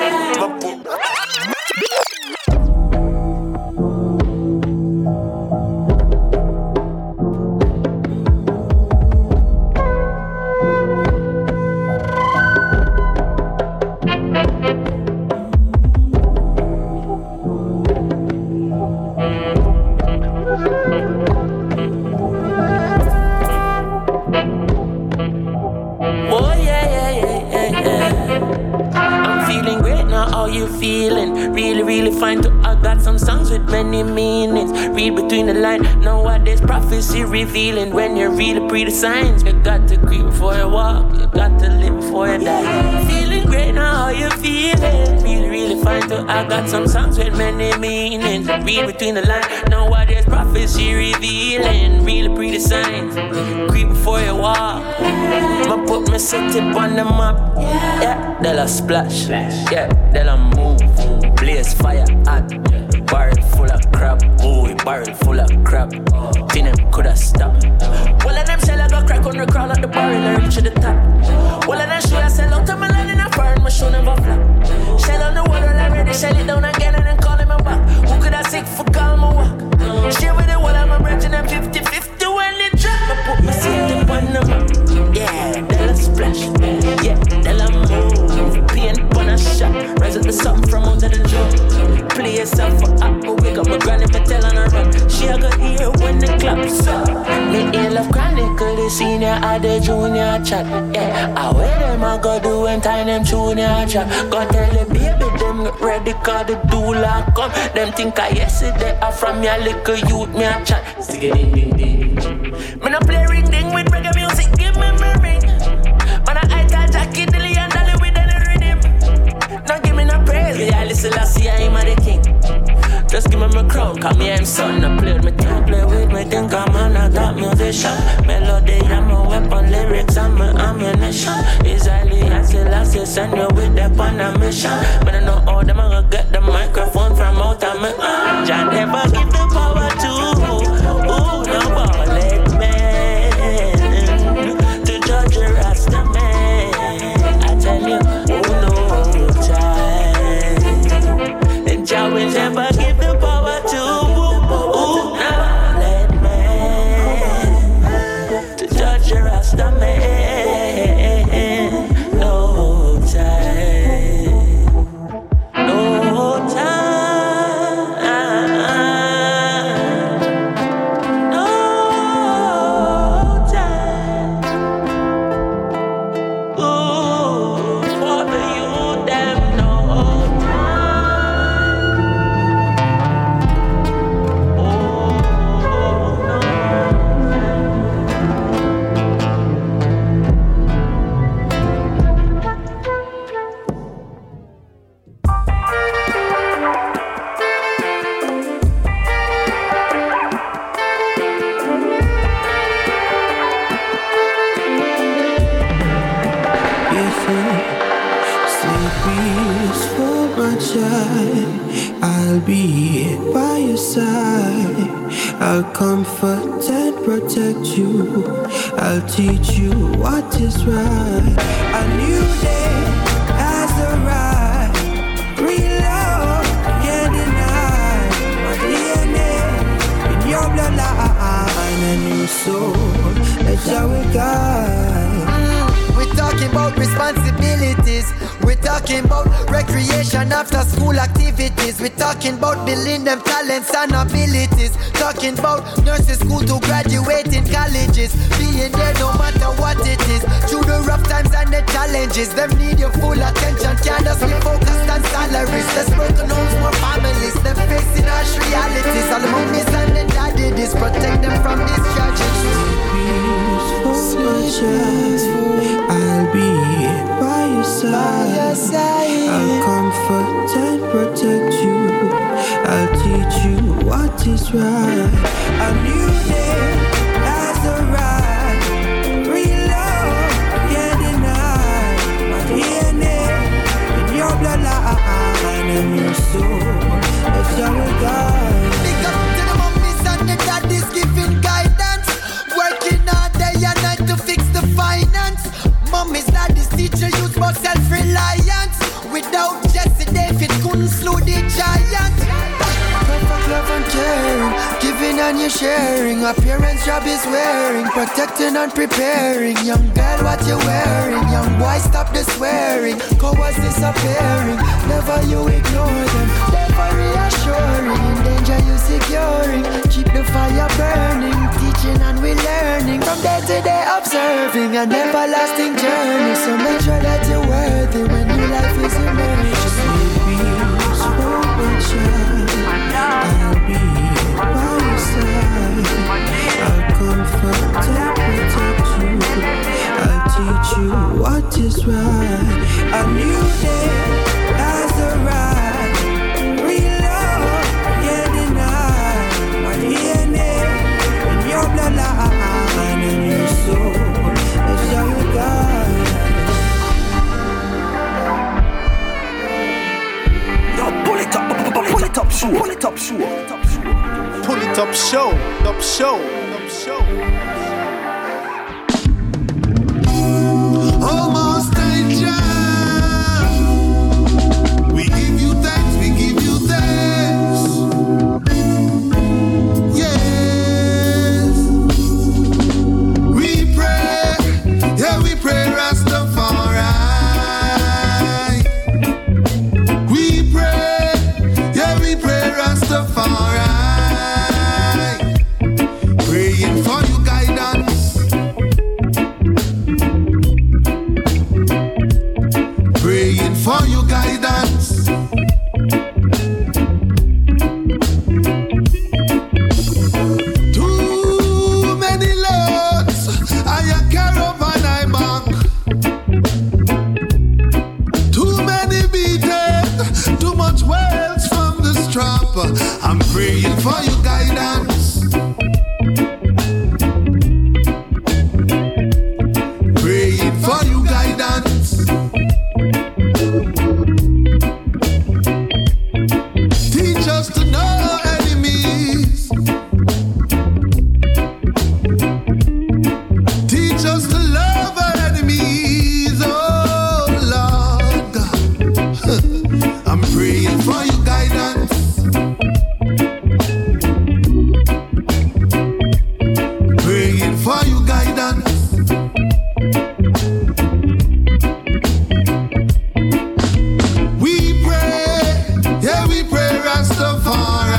Between the line, know what there's prophecy revealing. When you read the signs, you got to creep before you walk, you got to live before you die. Feeling great now, how you feeling? Really, really fine too. I got some songs with many meanings. Read between the line, know what there's prophecy revealing. Read the signs, creep before you walk. I put my city on the map, yeah, they'll a splash, yeah, they'll a move, blaze fire hot. Barrel full of crap, boy, barrel full of crap. Think them coulda stopped. Well, of them shell I got crack on the crown of the barrel and reach to the top. Well, of them show I sell out to my land in a foreign, my show never flop. Shell on the wall already, shell it down again and then call him a back. Who could I sick for call my walk? Share with the wall, I'm a branch and I'm 50-50 when they drop. I put my city on the map. Yeah, they'll a splash. Yeah, they'll a move. Paint on a shot. Rise up the something from under the drum. Play yourself for up, but wake up my granny for tell on her run. She a go hear when the claps up. Me in love chronicle, the senior or the junior chat. Yeah, I wear them I go do when time them junior chat. Go tell the baby them get ready cause the doula come. Them think I yesterday I from your little youth me a chat. Ding ding ding. Me no play ring ding with reggae music, give me my ring. Man I got Jackie Dilly and Dolly with any rhythm. Now give me my crown, come here and son. I play with me, don't play with me, think I'm a top musician. Melody, I'm a weapon, lyrics, I'm a ammunition. Israeli, I still send you with them on a mission. But I know all them, I'm gonna get the microphone from out of me. Jah never give the power to no ballad man to judge a Rasta man. I tell you, no time. And Jah will never give the power to no ballad man to judge a Rasta man. No time, no time. I'll be by your side. I'll comfort and protect you. I'll teach you what is right. A new day has arrived. Real love can't deny. My DNA in your bloodline, a new soul. That's how we guide. We're talking about responsibilities. We're talking about recreation after school activities. We're talking about building them talents and abilities. Talking about nursing school to graduate in colleges. Being there no matter what it is. Through the rough times and the challenges. Them need your full attention. Can't just be focused on salaries. Let's broken homes, more families. Them facing harsh realities. All the mummies and the daddies. Protect them from these tragedies. I'll be by your side. I'll comfort and protect you. I'll teach you what is right. A new day has arrived. Real love can't deny. My DNA in your bloodline, a new soul. That's how we guide. Big up to the mummies and the daddies giving guidance. Working all day and night to fix the finance. Mummies, daddies, teacher, youth about self-reliance. Without Jesse David couldn't slow the giant. Perfect love and caring, giving and you sharing. A parent's job is wearing, protecting and preparing. Young girl, what you wearing? Young boy, stop the swearing. Cowards disappearing, never you ignore them. Never reassuring, in danger you securing. Keep the fire burning, teaching and we learning. From day to day observing, an everlasting journey. So make sure that you're worthy when your life is emerging. I'll be by your side. I'll comfort and protect you. I'll teach you what is right. A new day has arrived. Real love can't deny. My DNA in your bloodline, a new soul. That's how we guide. Pull it up show. Pull it up show. Pull it up show. Up show. Up show. Almost danger. We give you thanks. We give you thanks. Yes. We pray. Yeah, we pray Rastafari. Rastafari, praying for your guidance, praying for your guidance. Too many loads, I caravan I bank. Too many beaten, too much wealth from the strap. I'm praying Praying for your guidance. Praying for your guidance. Teach us to know enemies. Teach us to love our enemies. Oh Lord God. I'm praying for your guidance. Praying for your guidance. We pray, yeah, we pray Rastafari.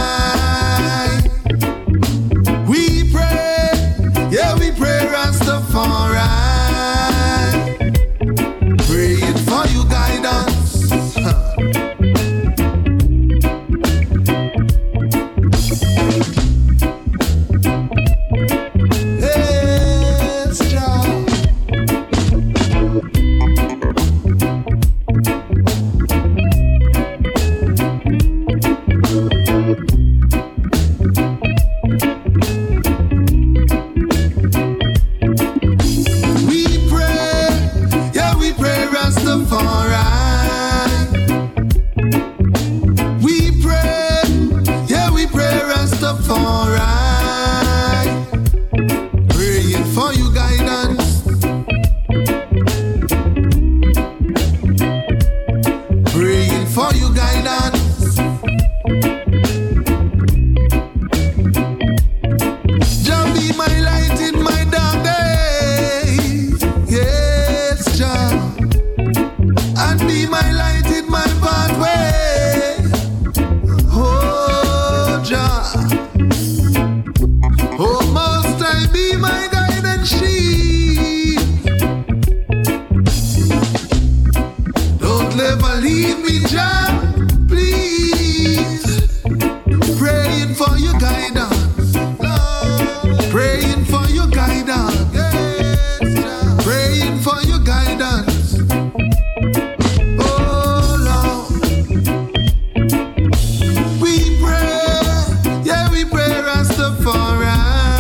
We pray, yeah, we pray Rastafari. Praying for your guidance. Yes, Jah. We pray, yeah, we pray Rastafari. We pray, yeah, we pray Rastafari. Praying for you guidance. Praying for you guidance. Jah be my light in my dark days. Yes, Jah. And be my light in my pathway. Oh, Jah. Oh, Most High, be my guide and shield. Don't ever leave me, Jah. Please. Praying for your guidance. Praying for your guidance. Yes, Jah. Praying for your guidance. Oh Lord. We pray, yeah, we pray Rastafari.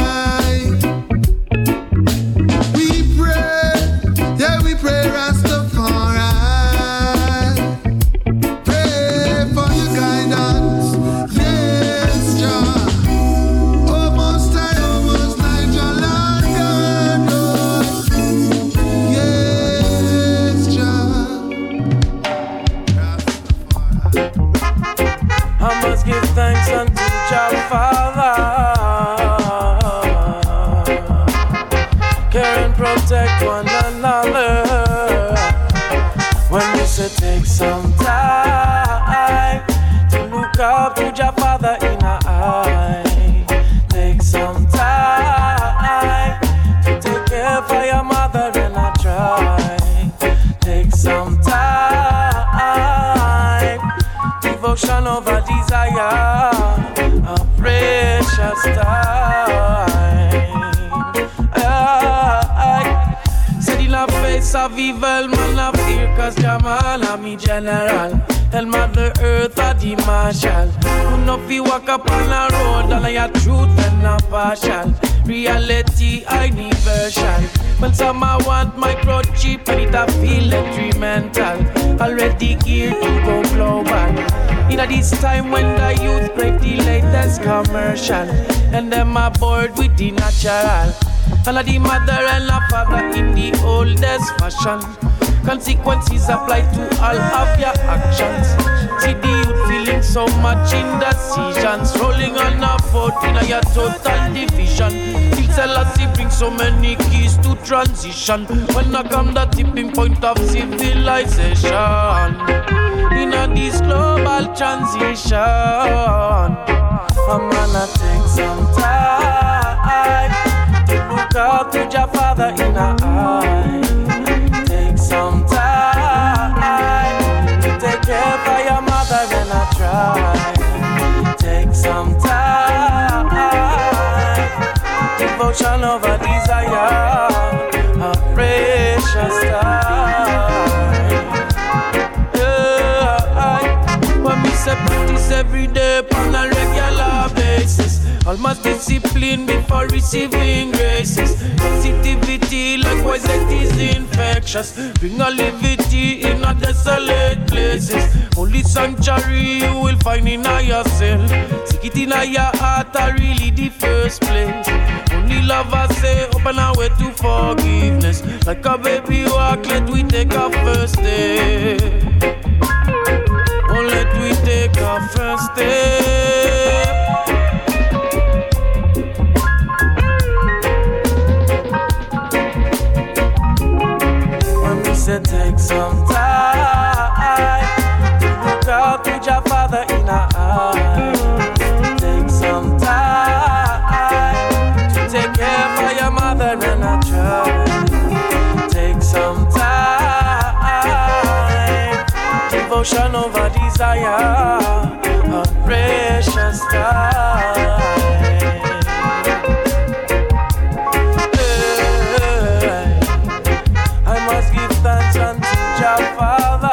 We pray, yeah, we pray Rastafari. Pray for your guidance. Yes, Jah. Oh, Most High, Jah, Lord God. Oh, yes, Jah. I must give thanks unto Jah Father. Care and protect one another. When we say take some time to look up to Jah Father in our eye. Take some time to take care for your mother and I try. Take some time, devotion over desire, a precious time. Said in the face of evil, man of fear, cause Jamal a me general. Tell Mother Earth a the marshal. Who know fi walk up on a road and I a truth and a partial. Reality universal. When some I want microchip and it a feel detrimental. Already geared to go global. In this time when the youth crave the latest commercial. And them are bored with the natural. And the mother and the father in the oldest fashion. Consequences apply to all of your actions. See the youth feeling so much indecisions. Rolling on a foot in a your total division. Till Selassie brings so many keys to transition. When I come the tipping point of civilization. In a this global transition. I'm gonna take some time to look up to your father in our eye. Take some time to take care for your mother and I try. Take some time, devotion over desire, a precious time. Yeah, when we say practice every day, on a regular discipline before receiving graces. Positivity, likewise, it is infectious. Bring a levity in a desolate places. Only sanctuary you will find in yourself. Seek it in your heart, are really the first place. Only lovers say, open our way to forgiveness. Like a baby walk, let we take our first step. Oh, let we take our first step. When we say take some time to look out to your father in our eyes. Take some time to take care for your mother and a child. Take some time, devotion over desire, a precious time. I must give thanks unto your Father.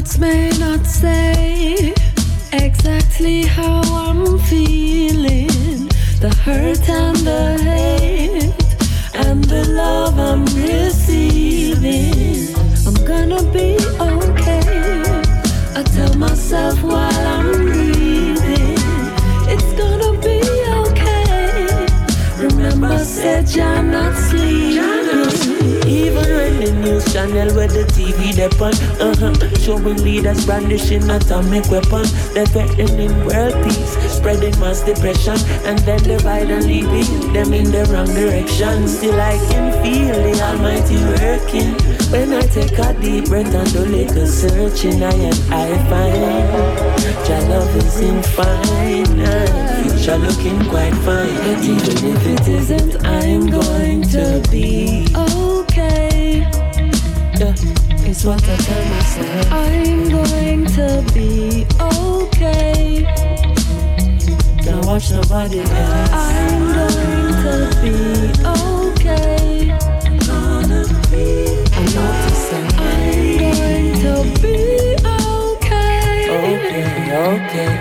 Words may not say exactly how I'm feeling, the hurt and the hate and the love I'm receiving. I'm gonna be okay, I tell myself while I'm breathing. It's gonna be okay. Remember, said you're not sleeping. Even when the news channel where the TV depend, showing leaders brandishing atomic weapons, they're threatening world peace, spreading mass depression, and then divide and leading them in the wrong direction. Still I can feel the Almighty working when I take a deep breath and do little searching. I find your love is infinite, future looking quite fine. But even if it isn't, I'm going to be okay. Yeah, it's what I tell myself. I'm going to be okay. Don't watch nobody else. I'm going to be okay. Gonna be. I'm going to be okay. Okay.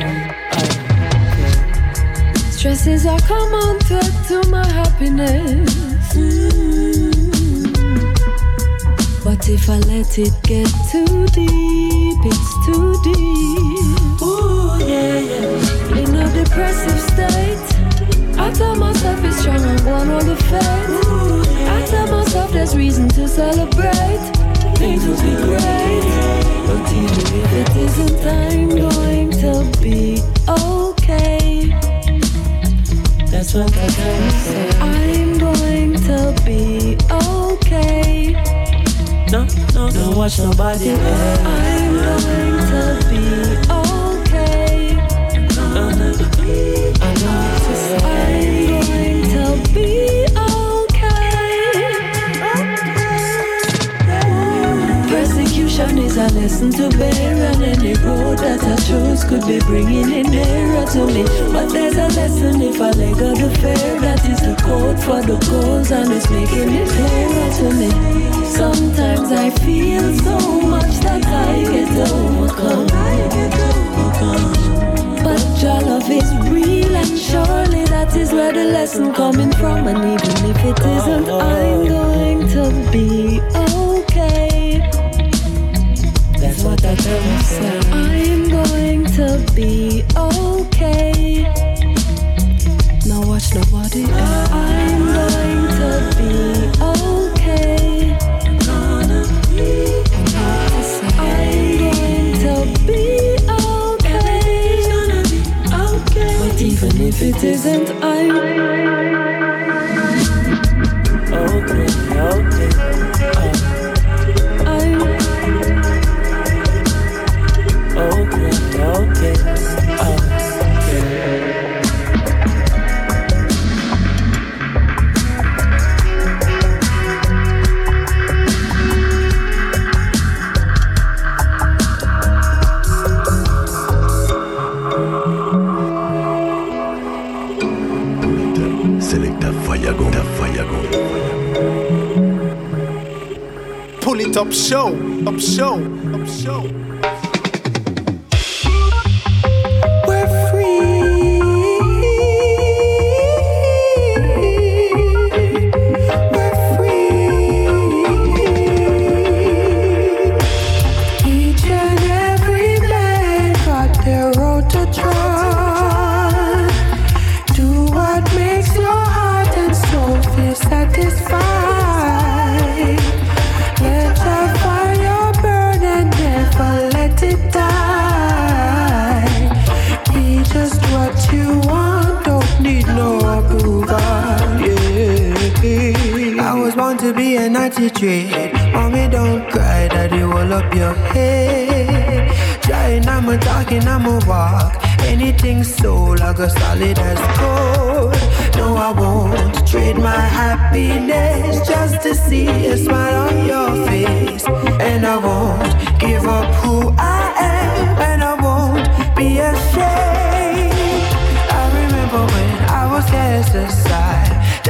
Stresses are common threat to my happiness. But if I let it get too deep, it's too deep. Ooh, yeah. In a depressive state, I tell myself it's strong and one on the fate. I tell myself there's reason to celebrate. Things will be great. But even if it isn't, I'm going to be okay. That's what I tell myself. I'm going to be okay. No, don't watch nobody else. I'm going to be okay. I'm going to be okay. Persecution is a lesson to bear, and any road that I chose could be bringing it nearer to me. But there's a lesson if I let go the fear. That is the code for the goals, and it's making it clearer to me. Sometimes I feel so much that I get overcome. But your love is real, and surely that is where the lesson coming from. And even if it isn't, I'm going to be okay. That's what I tell myself. I'm going to be okay. Now watch nobody else. I'm going to be okay. I'm going to be okay. But even if it isn't, I'm okay. Pull it up show. We're free. We're free. Each and every man got their road to try. Do what makes your heart and soul feel satisfied. Let your fire burn and never let it die. Be just what you want, don't need no approval. Yeah. I was born to be an attitude. Mommy, don't cry, daddy will up your head. Trying, I'm a talking, I'm a walk. Anything soul, I go solid as gold. No, I won't trade my happiness just to see a smile on your face. And I won't give up who I am, and I won't be ashamed. I remember when I was cast aside. Daddy said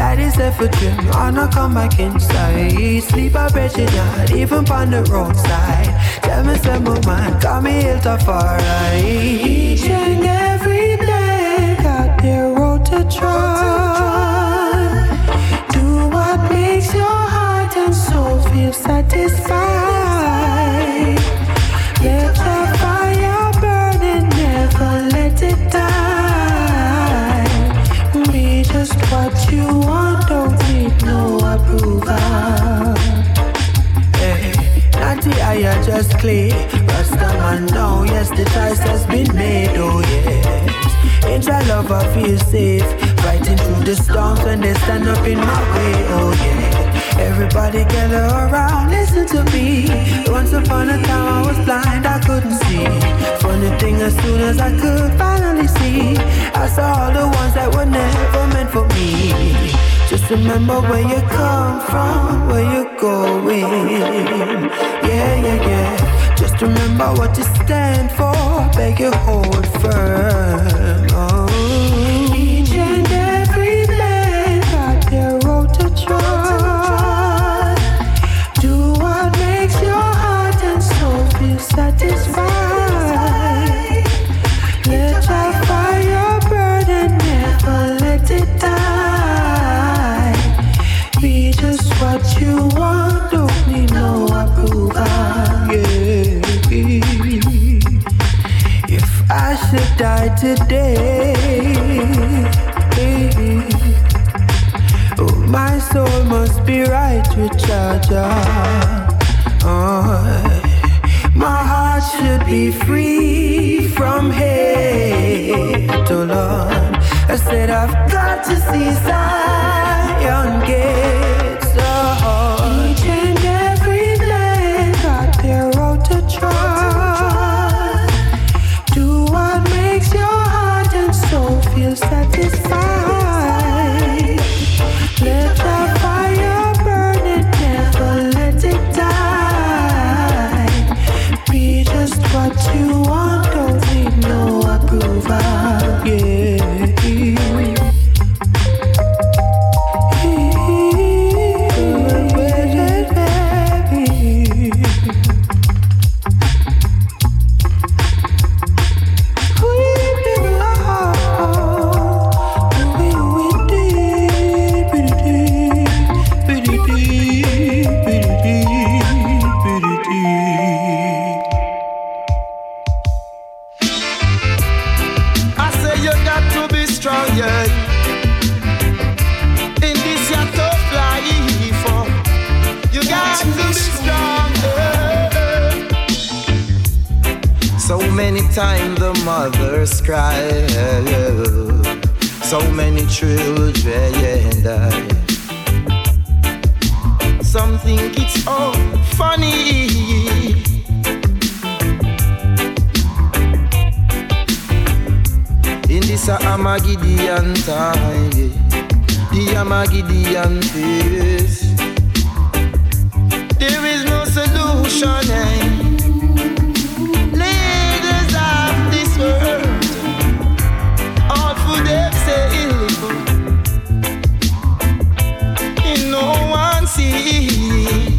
left a dream, and I come back inside. Sleep a bed night, even on the roadside. Tell me some of mine, got me ill to far right. Each and every day, got their road to try. Do what makes your heart and soul feel satisfied. Let the fire burn and never let it die. Be just what you want, don't need no approval. Hey, not the eye just clear. Rastaman know, yes, the choice has been made, oh yes. In your love I feel safe, fighting through the storms when they stand up in my way, oh yeah. Everybody gather around, listen to me. Once upon a time I was blind, I couldn't see. Funny thing, as soon as I could finally see, I saw all the ones that were never meant for me. Just remember where you come from, where you're going. Yeah, yeah, yeah. Just remember what you stand for, beg you hold firm. Oh. Each and every man got their road to try. Do what makes your heart and soul feel satisfied. Let your fire burn and never let it die. Be just what you want, don't need no approval. Yeah. If I should die today, oh, my soul must be right with Jah. My heart should be free from hate, oh Lord. I said I've got to see Zion gates. Oh, each and every man got their road to try. Do what makes your heart and soul feel satisfied. Let the fire burn and never let it die. Be just what you want, don't need no approval. Yeah. Time the mothers cry, so many children die. Some think it's all funny. In this Armageddon time, the Armageddon face, there is no solution. All for themselves, and no one see.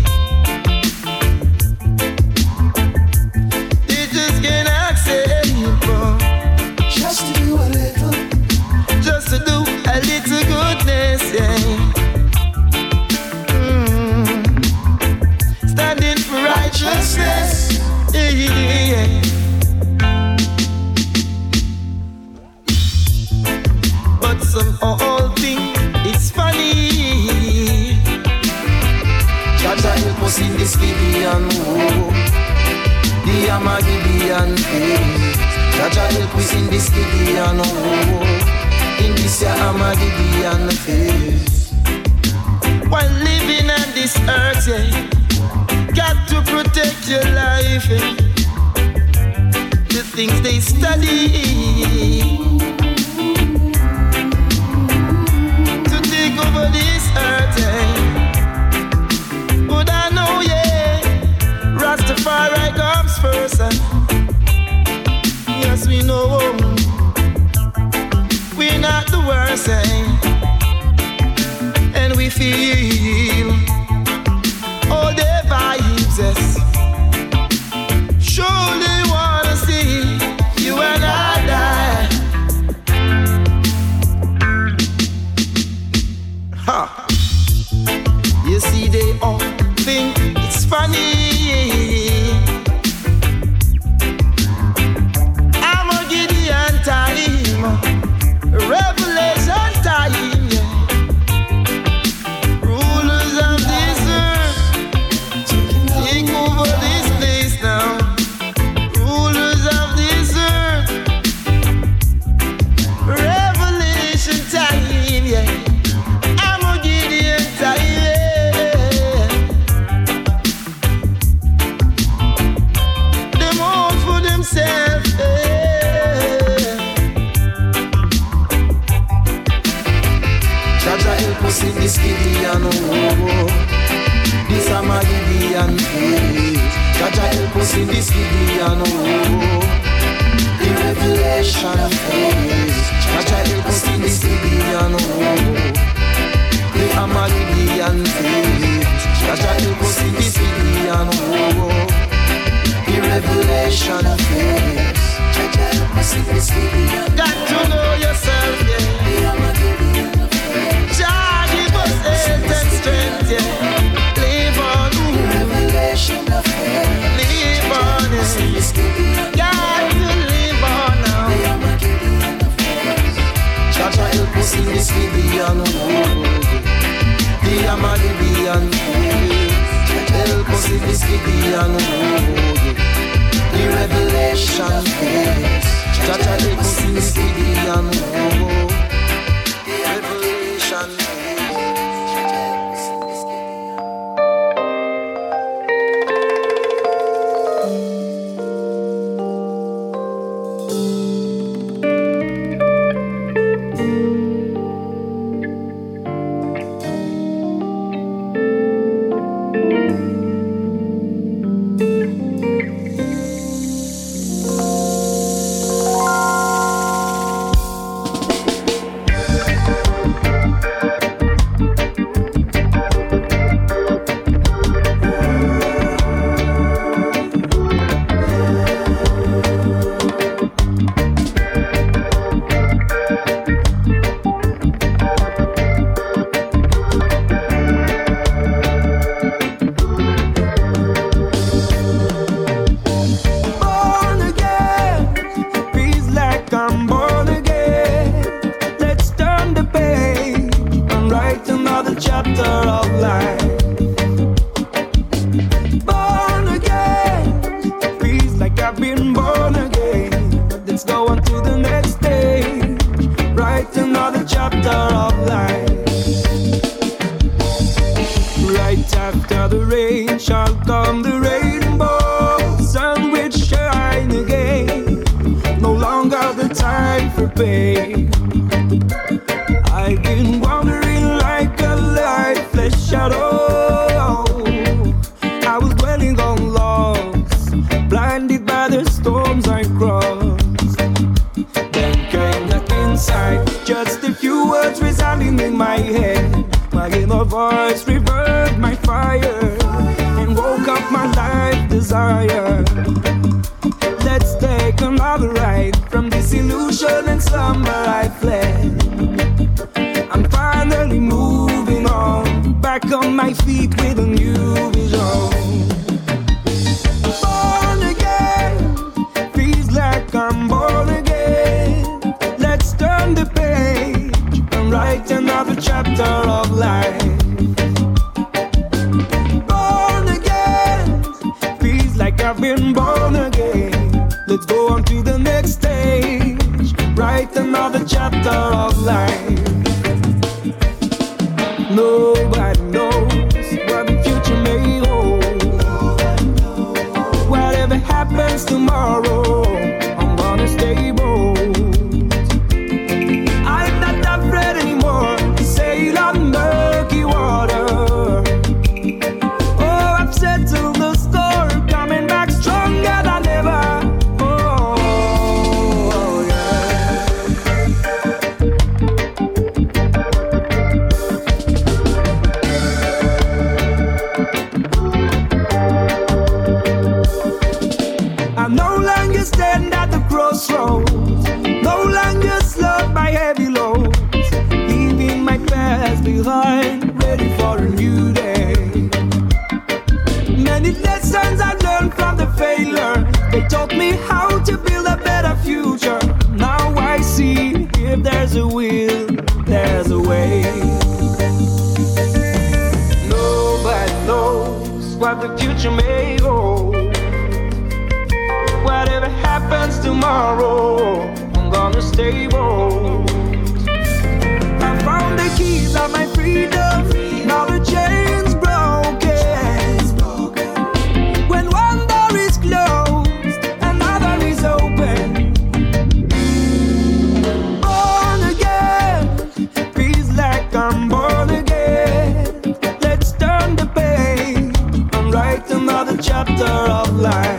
They just can't accept just to do a little, just to do a little goodness, yeah. Standing for righteousness, yeah. Some old thing, it's funny. Jaja help us in this Gideon war, the Armageddon phase. Jaja help us in this Gideon war, in this Armageddon phase. While living on this earth, yeah, got to protect your life. Yeah. The things they study over this earth, but I know, yeah, Rastafari comes first. Yes, we know we're not the worst, and we feel all the vibes, yes. Surely wanna see you and I die. Ha. You see, they all think it's funny. I'm a Gideon time, Revelation time, yeah. Rulers of this earth, take over this place now. Rulers of this earth, Revelation time, yeah. I'm a Gideon time, yeah. Them all for themselves, yeah. Jaja help us in this Gideon, oh. This a my Gideon face. Jaja help us in this Gideon, oh. The revelation face. Jaja help us in this Gideon, oh. The Gideon face. Jaja help us in this Gideon, oh. The revelation face. Jaja help us in this Gideon. Got to know yourself, yeah. Jah give us health and strength, yeah. Live on, revelation of faith. Live on, yeah. Got to live on now. Jaja help us in this Gideon, oh. The Gideon faith. Help us in this Gideon, oh. The revelation faith. Jaja help us in this Gideon, oh. The revelation faith. no longer stand at the crossroads, no longer slowed by heavy loads, leaving my past behind, ready for a new day. Many lessons I learned from the failure, they taught me how to build a better future. Now I see, if there's a will, there's a way. Nobody knows what the future may hold. Whatever happens tomorrow, I'm gonna stay bold. I found the keys of my freedom, now the chains broken. When one door is closed, another is open. Born again, feels like I'm born again. Let's turn the page and write another chapter of life.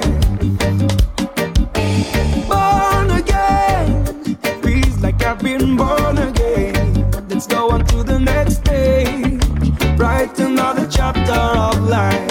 I've been born again. Let's go on to the next stage, write another chapter of life.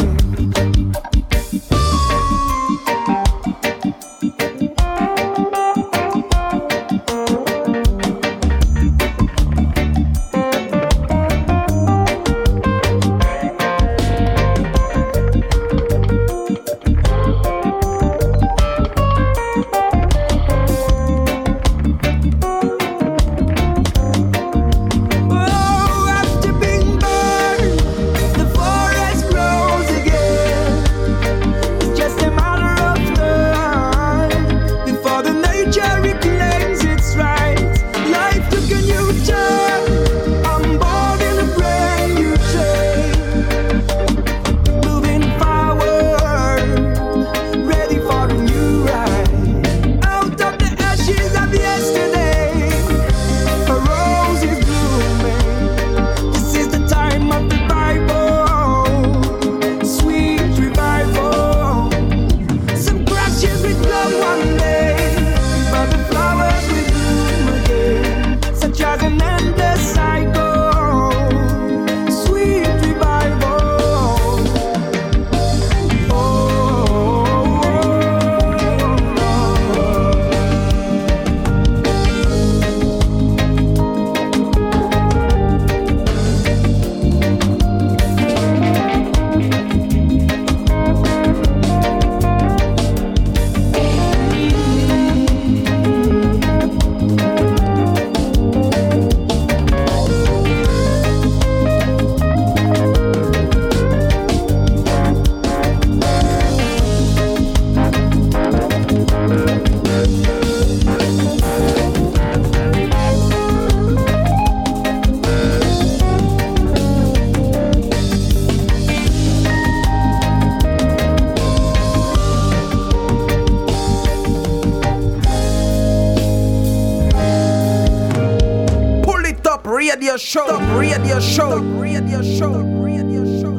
Radio show, radio show, radio show, radio show.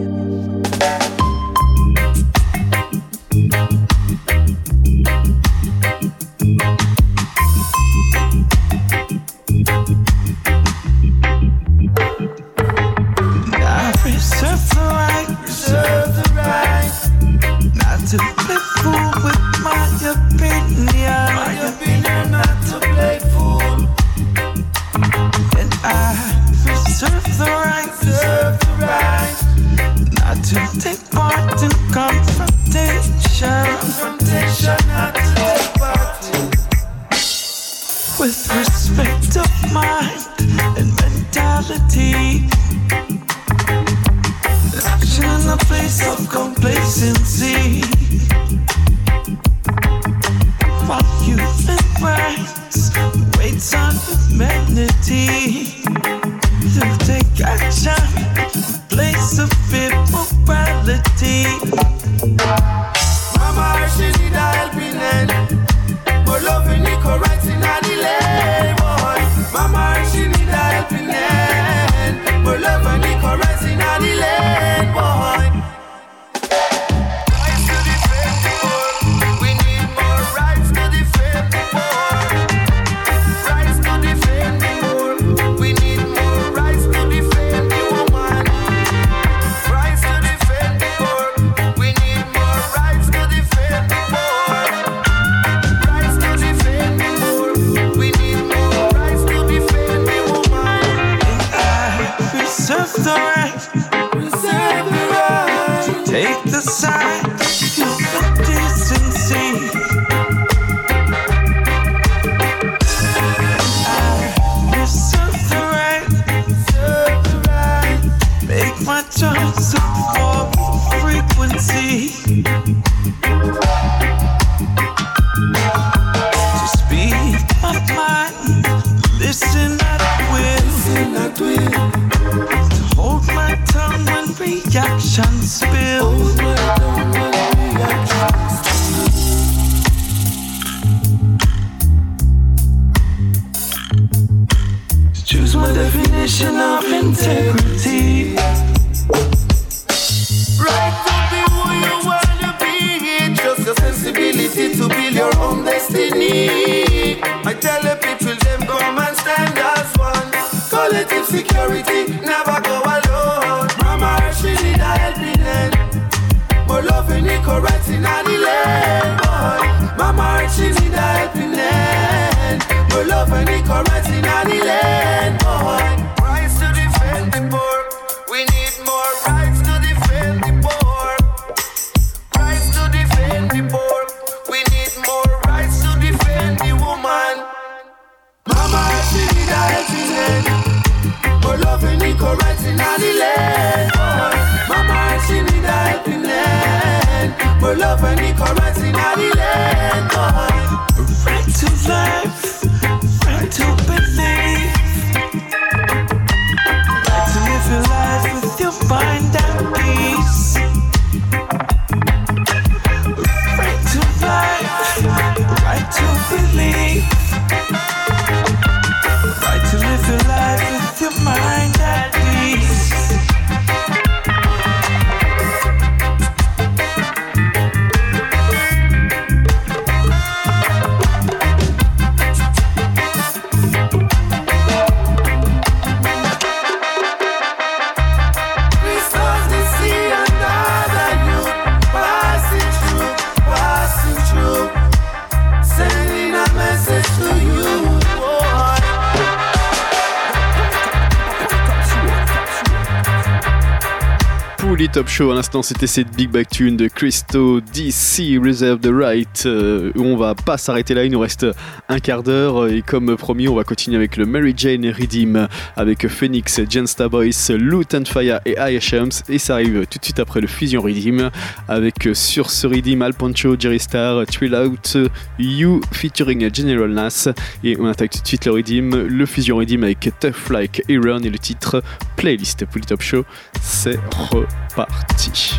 Reserve the right not to play fool with my opinion. My opinion, not to play fool. And I reserve the right not to take part in confrontation. Confrontation, not to take part in. With respect of mind and mentality. Action in a place of complacency. While human rights waits on humanity to take action in place of immorality. Mama, she need a helping hand, but loving equal rights in a delay, boy. Mama, she need a helping hand, but loving equal rights in a delay, boy. Rise to the need to build your own destiny. I tell the people them come and stand as one. Collective security, never go alone. Mama, she need a helping hand. More love and equal rights in the land, boy. Mama, she need a helping hand. More love and equal rights in the land, boy. Rights to defend the poor. We need more rights to defend the poor. Rights to defend the poor. We need more rights to defend the woman. Mama, she need a helping hand. More love and equal rights in the land, boy. Mama, she need a helping hand. More love and equal rights in the land, boy. Right to life, right to believe. Right to live your life with your mind at peace. Right to life, right to believe. Right to live your life with your mind at peace. Top Show à l'instant, c'était cette Big Back Tune de Christo DC Reserve the Right. On va pas s'arrêter là, il nous reste un quart d'heure et comme promis, on va continuer avec le Mary Jane Redeem avec Phoenix, Gensta Boys, Loot and Fire et IHMs et ça arrive tout de suite après le Fusion Redeem avec sur ce Redeem Al Poncho, Jerry Star, Trill Out, You featuring General Nas et on attaque tout de suite le Redeem, le Fusion Redeem avec Tough Like Iron et le titre Playlist pour le Top Show. C'est reparti.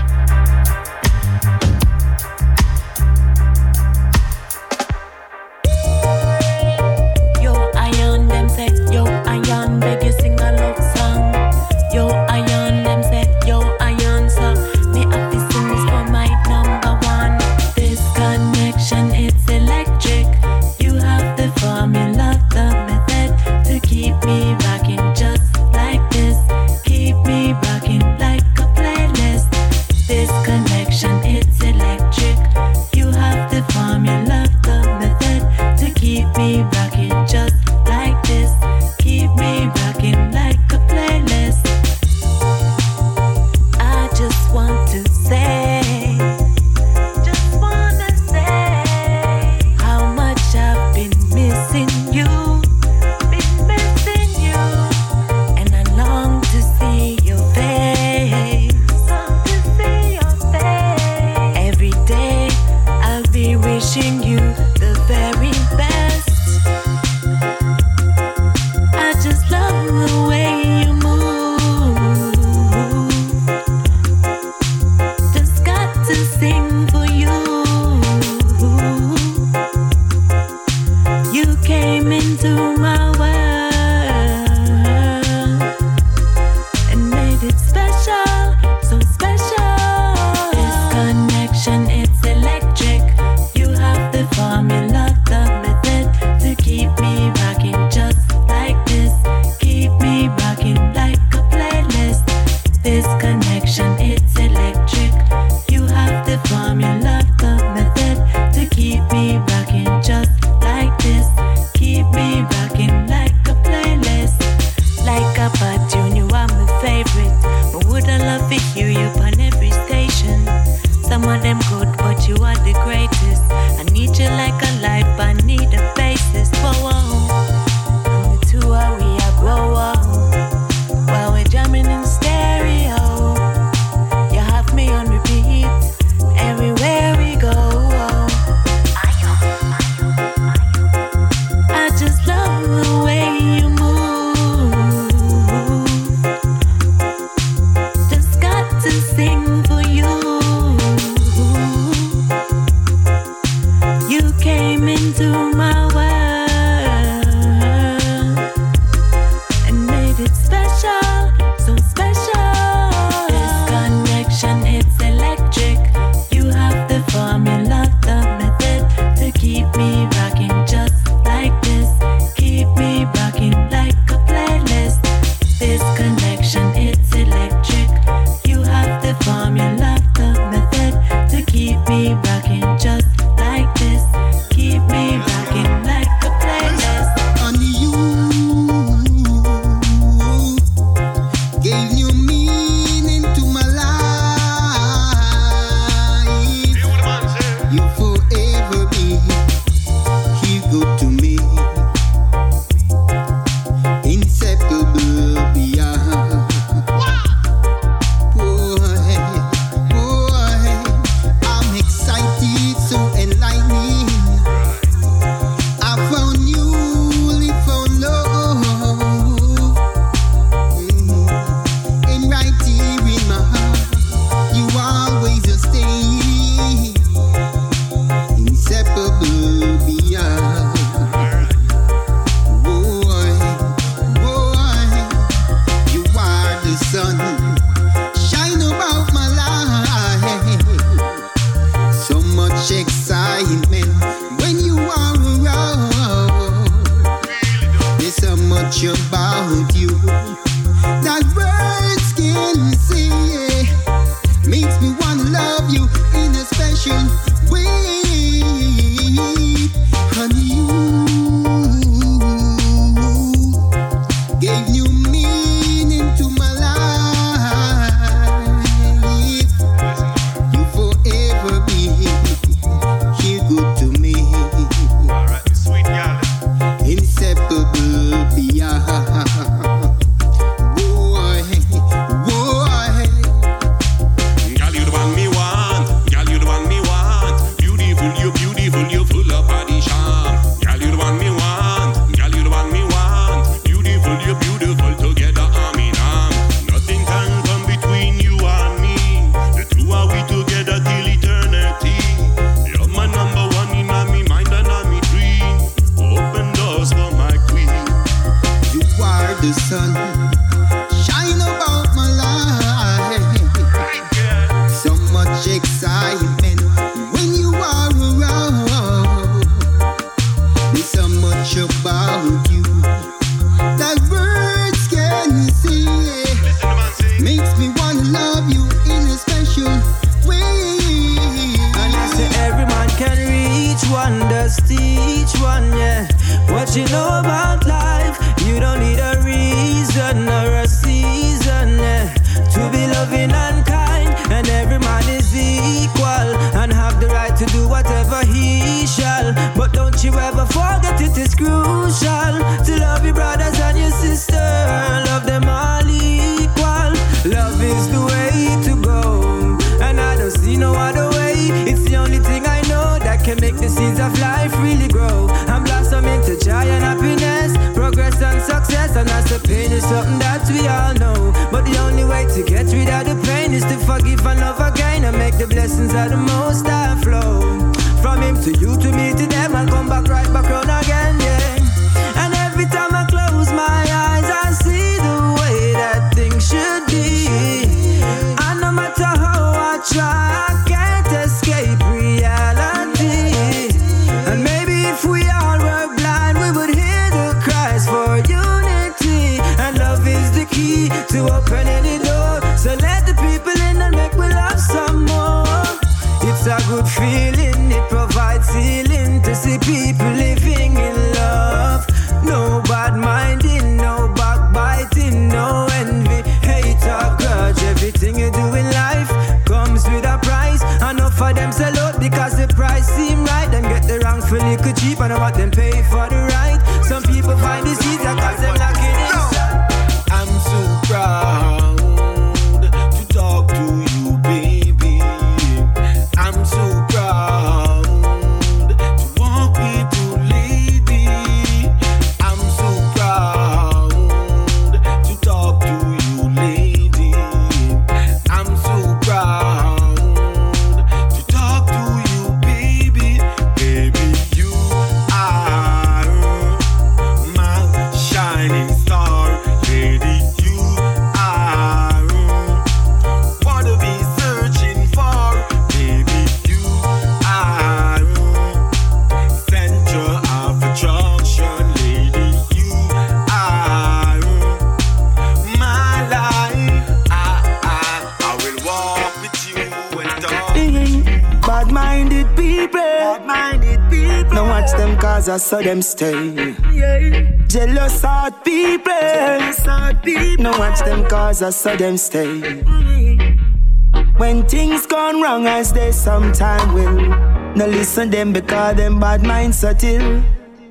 Yo, Iron, them say, yo, Iron, beg you sing a love song. Yo, Iron, them say, yo, Iron, so me have to sing this for my number one. This connection, it's electric. You have the formula, the method to keep me rocking just like this. Keep me rocking like a playlist. This one does teach one, yeah. What you know about life, you don't need a reason or a season, yeah. To be loving and kind, and every man is equal, and have the right to do whatever he shall. But don't you ever forget it is crucial to love your brothers and your sister, love them all equal. Love is the way to go, and I don't see no other way. It's the only thing I know that can make the seeds of life really grow and blossom into joy and happiness, progress and success. And as the pain is something that we all know, but the only way to get rid of the pain is to forgive and love again, and make the blessings of the Most High flow from him to you, to me, to them, and come back right back round again, yeah. And every time I close my eyes, I see the way that things should be. And no matter how I try, I can't escape reality. And maybe if we all were blind, we would hear the cries for unity. And love is the key to open any door. So let the people in and make we love some more. It's a good feeling, it provides healing to see people living in love. No bad minding, no backbiting, no envy, hate or grudge. Everything you do in life comes with a price. Enough for them sell out because the price seem right. Them get the wrongful liquor cheap and what them pay for the right. Some people find this easier cause them lacking inside. I'm so proud to talk to you, baby. I'm so proud to walk with you, lady. I'm so proud to talk to you, lady. I'm so proud to talk to you, baby. Baby, you are my shining star. Lady, you are what to be searching for. Baby, you are center of attraction. Lady, you are my life. I will walk with you and talk. Bad-minded people, now watch them cause I saw them stay. Jealous heart people, now watch them cause I saw them stay. When things gone wrong as they sometime will, no listen them because them bad minds subtle.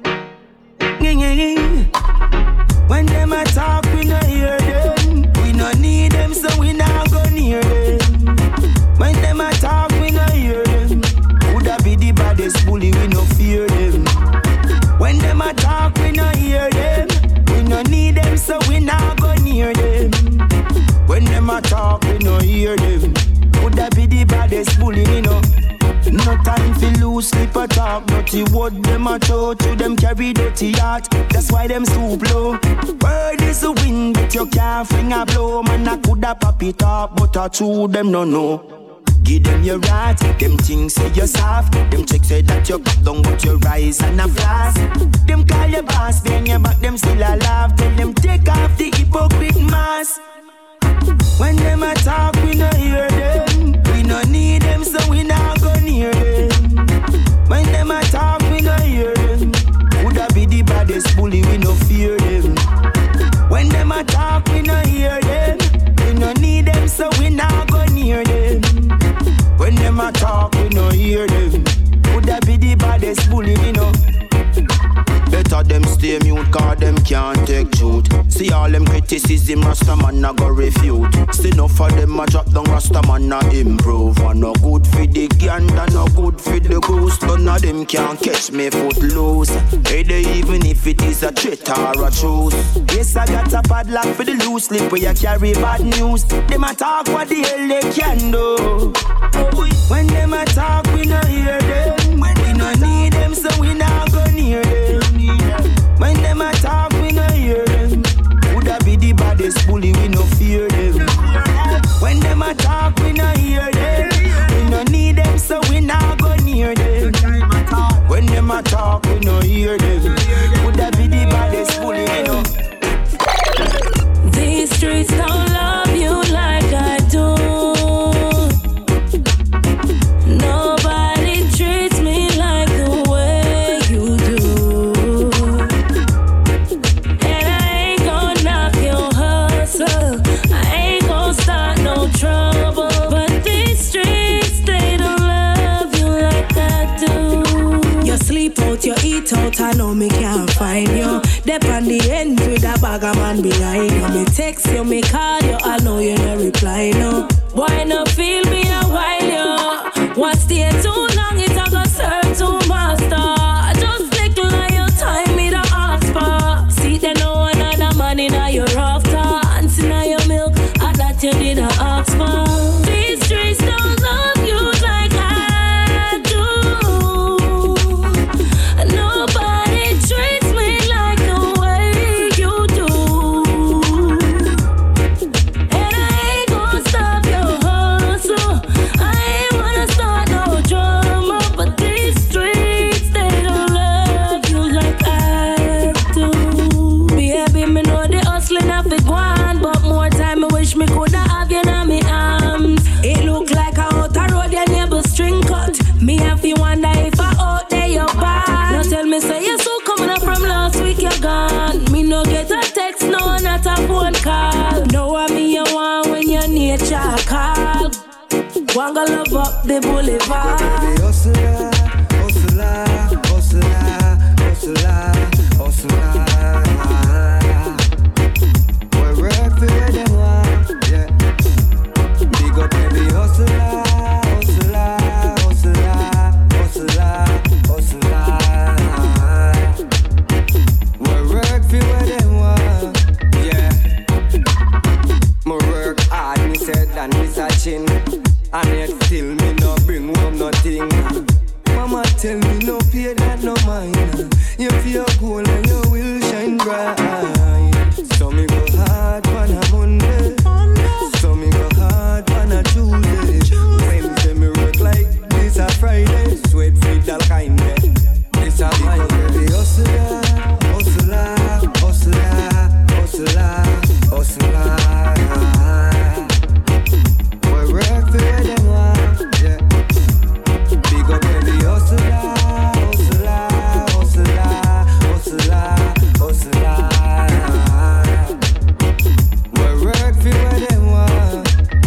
When them a talk we no hear them, we no need them so we not go near them. When them a talk we no hear them, coulda be the baddest bully we no fear them. When them a talk we no hear them, we no need them so we not go near them. When them a talk we no hear them, coulda be the baddest bully we no. No time for loose slip or talk, dirty word them a throw to them carry dirty heart. That's why them stoop low. Word is the wind, but you can't fling a blow. Man I coulda pop it up, but I chew them no know. Give them your right, them things say you're soft. Them chicks say that you pop down but your rise and a flash. Them call your boss, behind your back them still alive. Tell them take off the hypocrite mask. When them a talk we no hear them, we no need them so we not go near them. When them a talk we no hear them, coulda be the baddest bully we no fear them. When them a talk we no hear them, we no need them so we not go near them. When them a talk we no hear them, coulda be the baddest bully we no. Better them stay mute cause them can't take truth. See all them criticism Rasta man a go refute. Still enough for them a drop down Rasta man a improve. And no good for the gander, no good for the goose. None of them can catch me foot loose. Hey they even if it is a threat or a truth. Yes I got a padlock for the loose slip where you carry bad news. Them a talk what the hell they can do. When them a talk we no hear them, we no need them so we not go near them. When them a talk we no hear them, coulda be the baddest bully we no fear them. When them a talk we no hear them, we no need them so we not go near them. When them a talk we no hear them, coulda be the baddest bully we no. These streets don't love you like I do. Nobody sleep out, you eat out, I know me can't find you. Dep on the end with a bag of man behind you. Me text you, me call you, I know you no reply, no. Why not feel me a while, you? What stay too long, it a go serve to master. Just little like your time, me the ask for. See there no another man in your after. And in your milk, I that you didn't ask for. These streets don't love you like I do. Nobody treats me like the way you do. And I ain't gonna stop your hustle. I ain't wanna start no drama. But these streets, they don't love you like I do. Baby, me know the hustling have been gone. But more time I wish me coulda have you in my arms. It look like a out a road your neighbor string cut. Me have to wonder if I out there you're bad. Now tell me say you so coming up from last week you're gone. Me no get a text, no not a phone call. Know what me you want when your nature call. Want to love up the boulevard. Hustler, hustler, hustler, hustler, hustler. We work for where they want, yeah. Big up every hustler, hustler, hustler, hustler, hustler. We work for where they want, yeah. Me work hard, me said and me searching. And yet still me no bring home nothing. Mama tell me no pay that no mind. You feel gold and you will shine bright. So me go hard on a Monday. So me go hard on a Tuesday. Wednesday me work like this a Friday. Sweat feed all kind of. This a my baby hustler, hustler, hustler, hustler, hustler. We work for where they want, yeah. Big up every hustler, hustler, hustler, hustler, hustler. We work for where they want.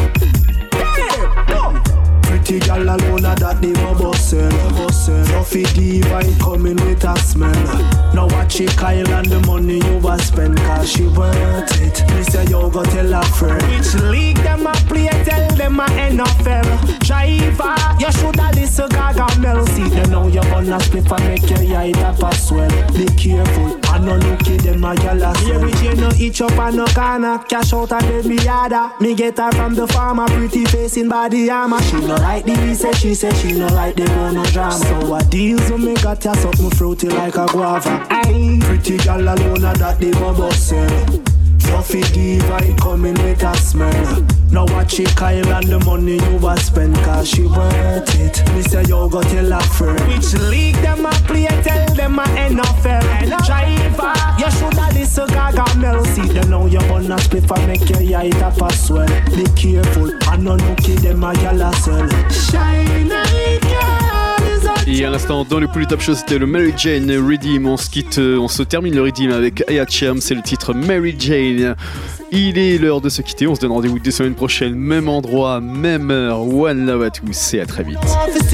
Pretty girl alone that they bustin'. Fluffy divine coming with a smell. Now watch it Kyle and the money you was spend, cause she worth it. Me say you go tell a friend. Which league them a play, tell them a NFL. Driver, you shoulda listen Gaga Mel. See them now you gonna split and make your eye tap as well. Be careful, I no look at them a gyal as well. Here we no each up and no corner. Cash out and then me yada. Me get her from the farmer, pretty face in body armor. She no like the she said she no like the no drama. So what deals with me got ya something fruity like a guava. Aye, pretty girl alone that they go bustin'. Fluffy divine coming with a smell. Now watch it Kyle and the money you was spend, cause she worth it. Me say you go tell a friend. Which league them a play, tell them a NFL. Driver, you shoulda listen Gaga Mel. See them now you gonna split and make your eye tap as well. Be careful, I no look at them a gyal as well. Shine like Et à l'instant, dans le Pouli Top Show, c'était le Mary Jane Redeem. On se termine le Redeem avec Aya Cham, c'est le titre Mary Jane. Il est l'heure de se quitter. On se donne rendez-vous dès semaine prochaine, même endroit, même heure. One love à tous et à très vite.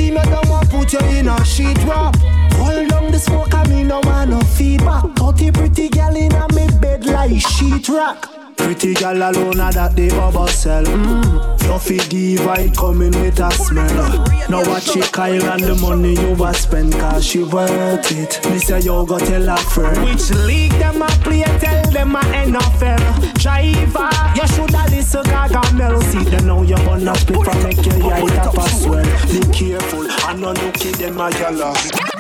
Pretty girl alone that they oversell. Fluffy divine coming with a smell. Now watch it Kyle and the money you was spend, cause she worth it. Me say you go tell a friend. Which league them a play, tell them a NFL. Driver, you shoulda listen Gaga Mel. See them now you gonna split and make your eye tap as well. Be careful, I no look at them a gyal.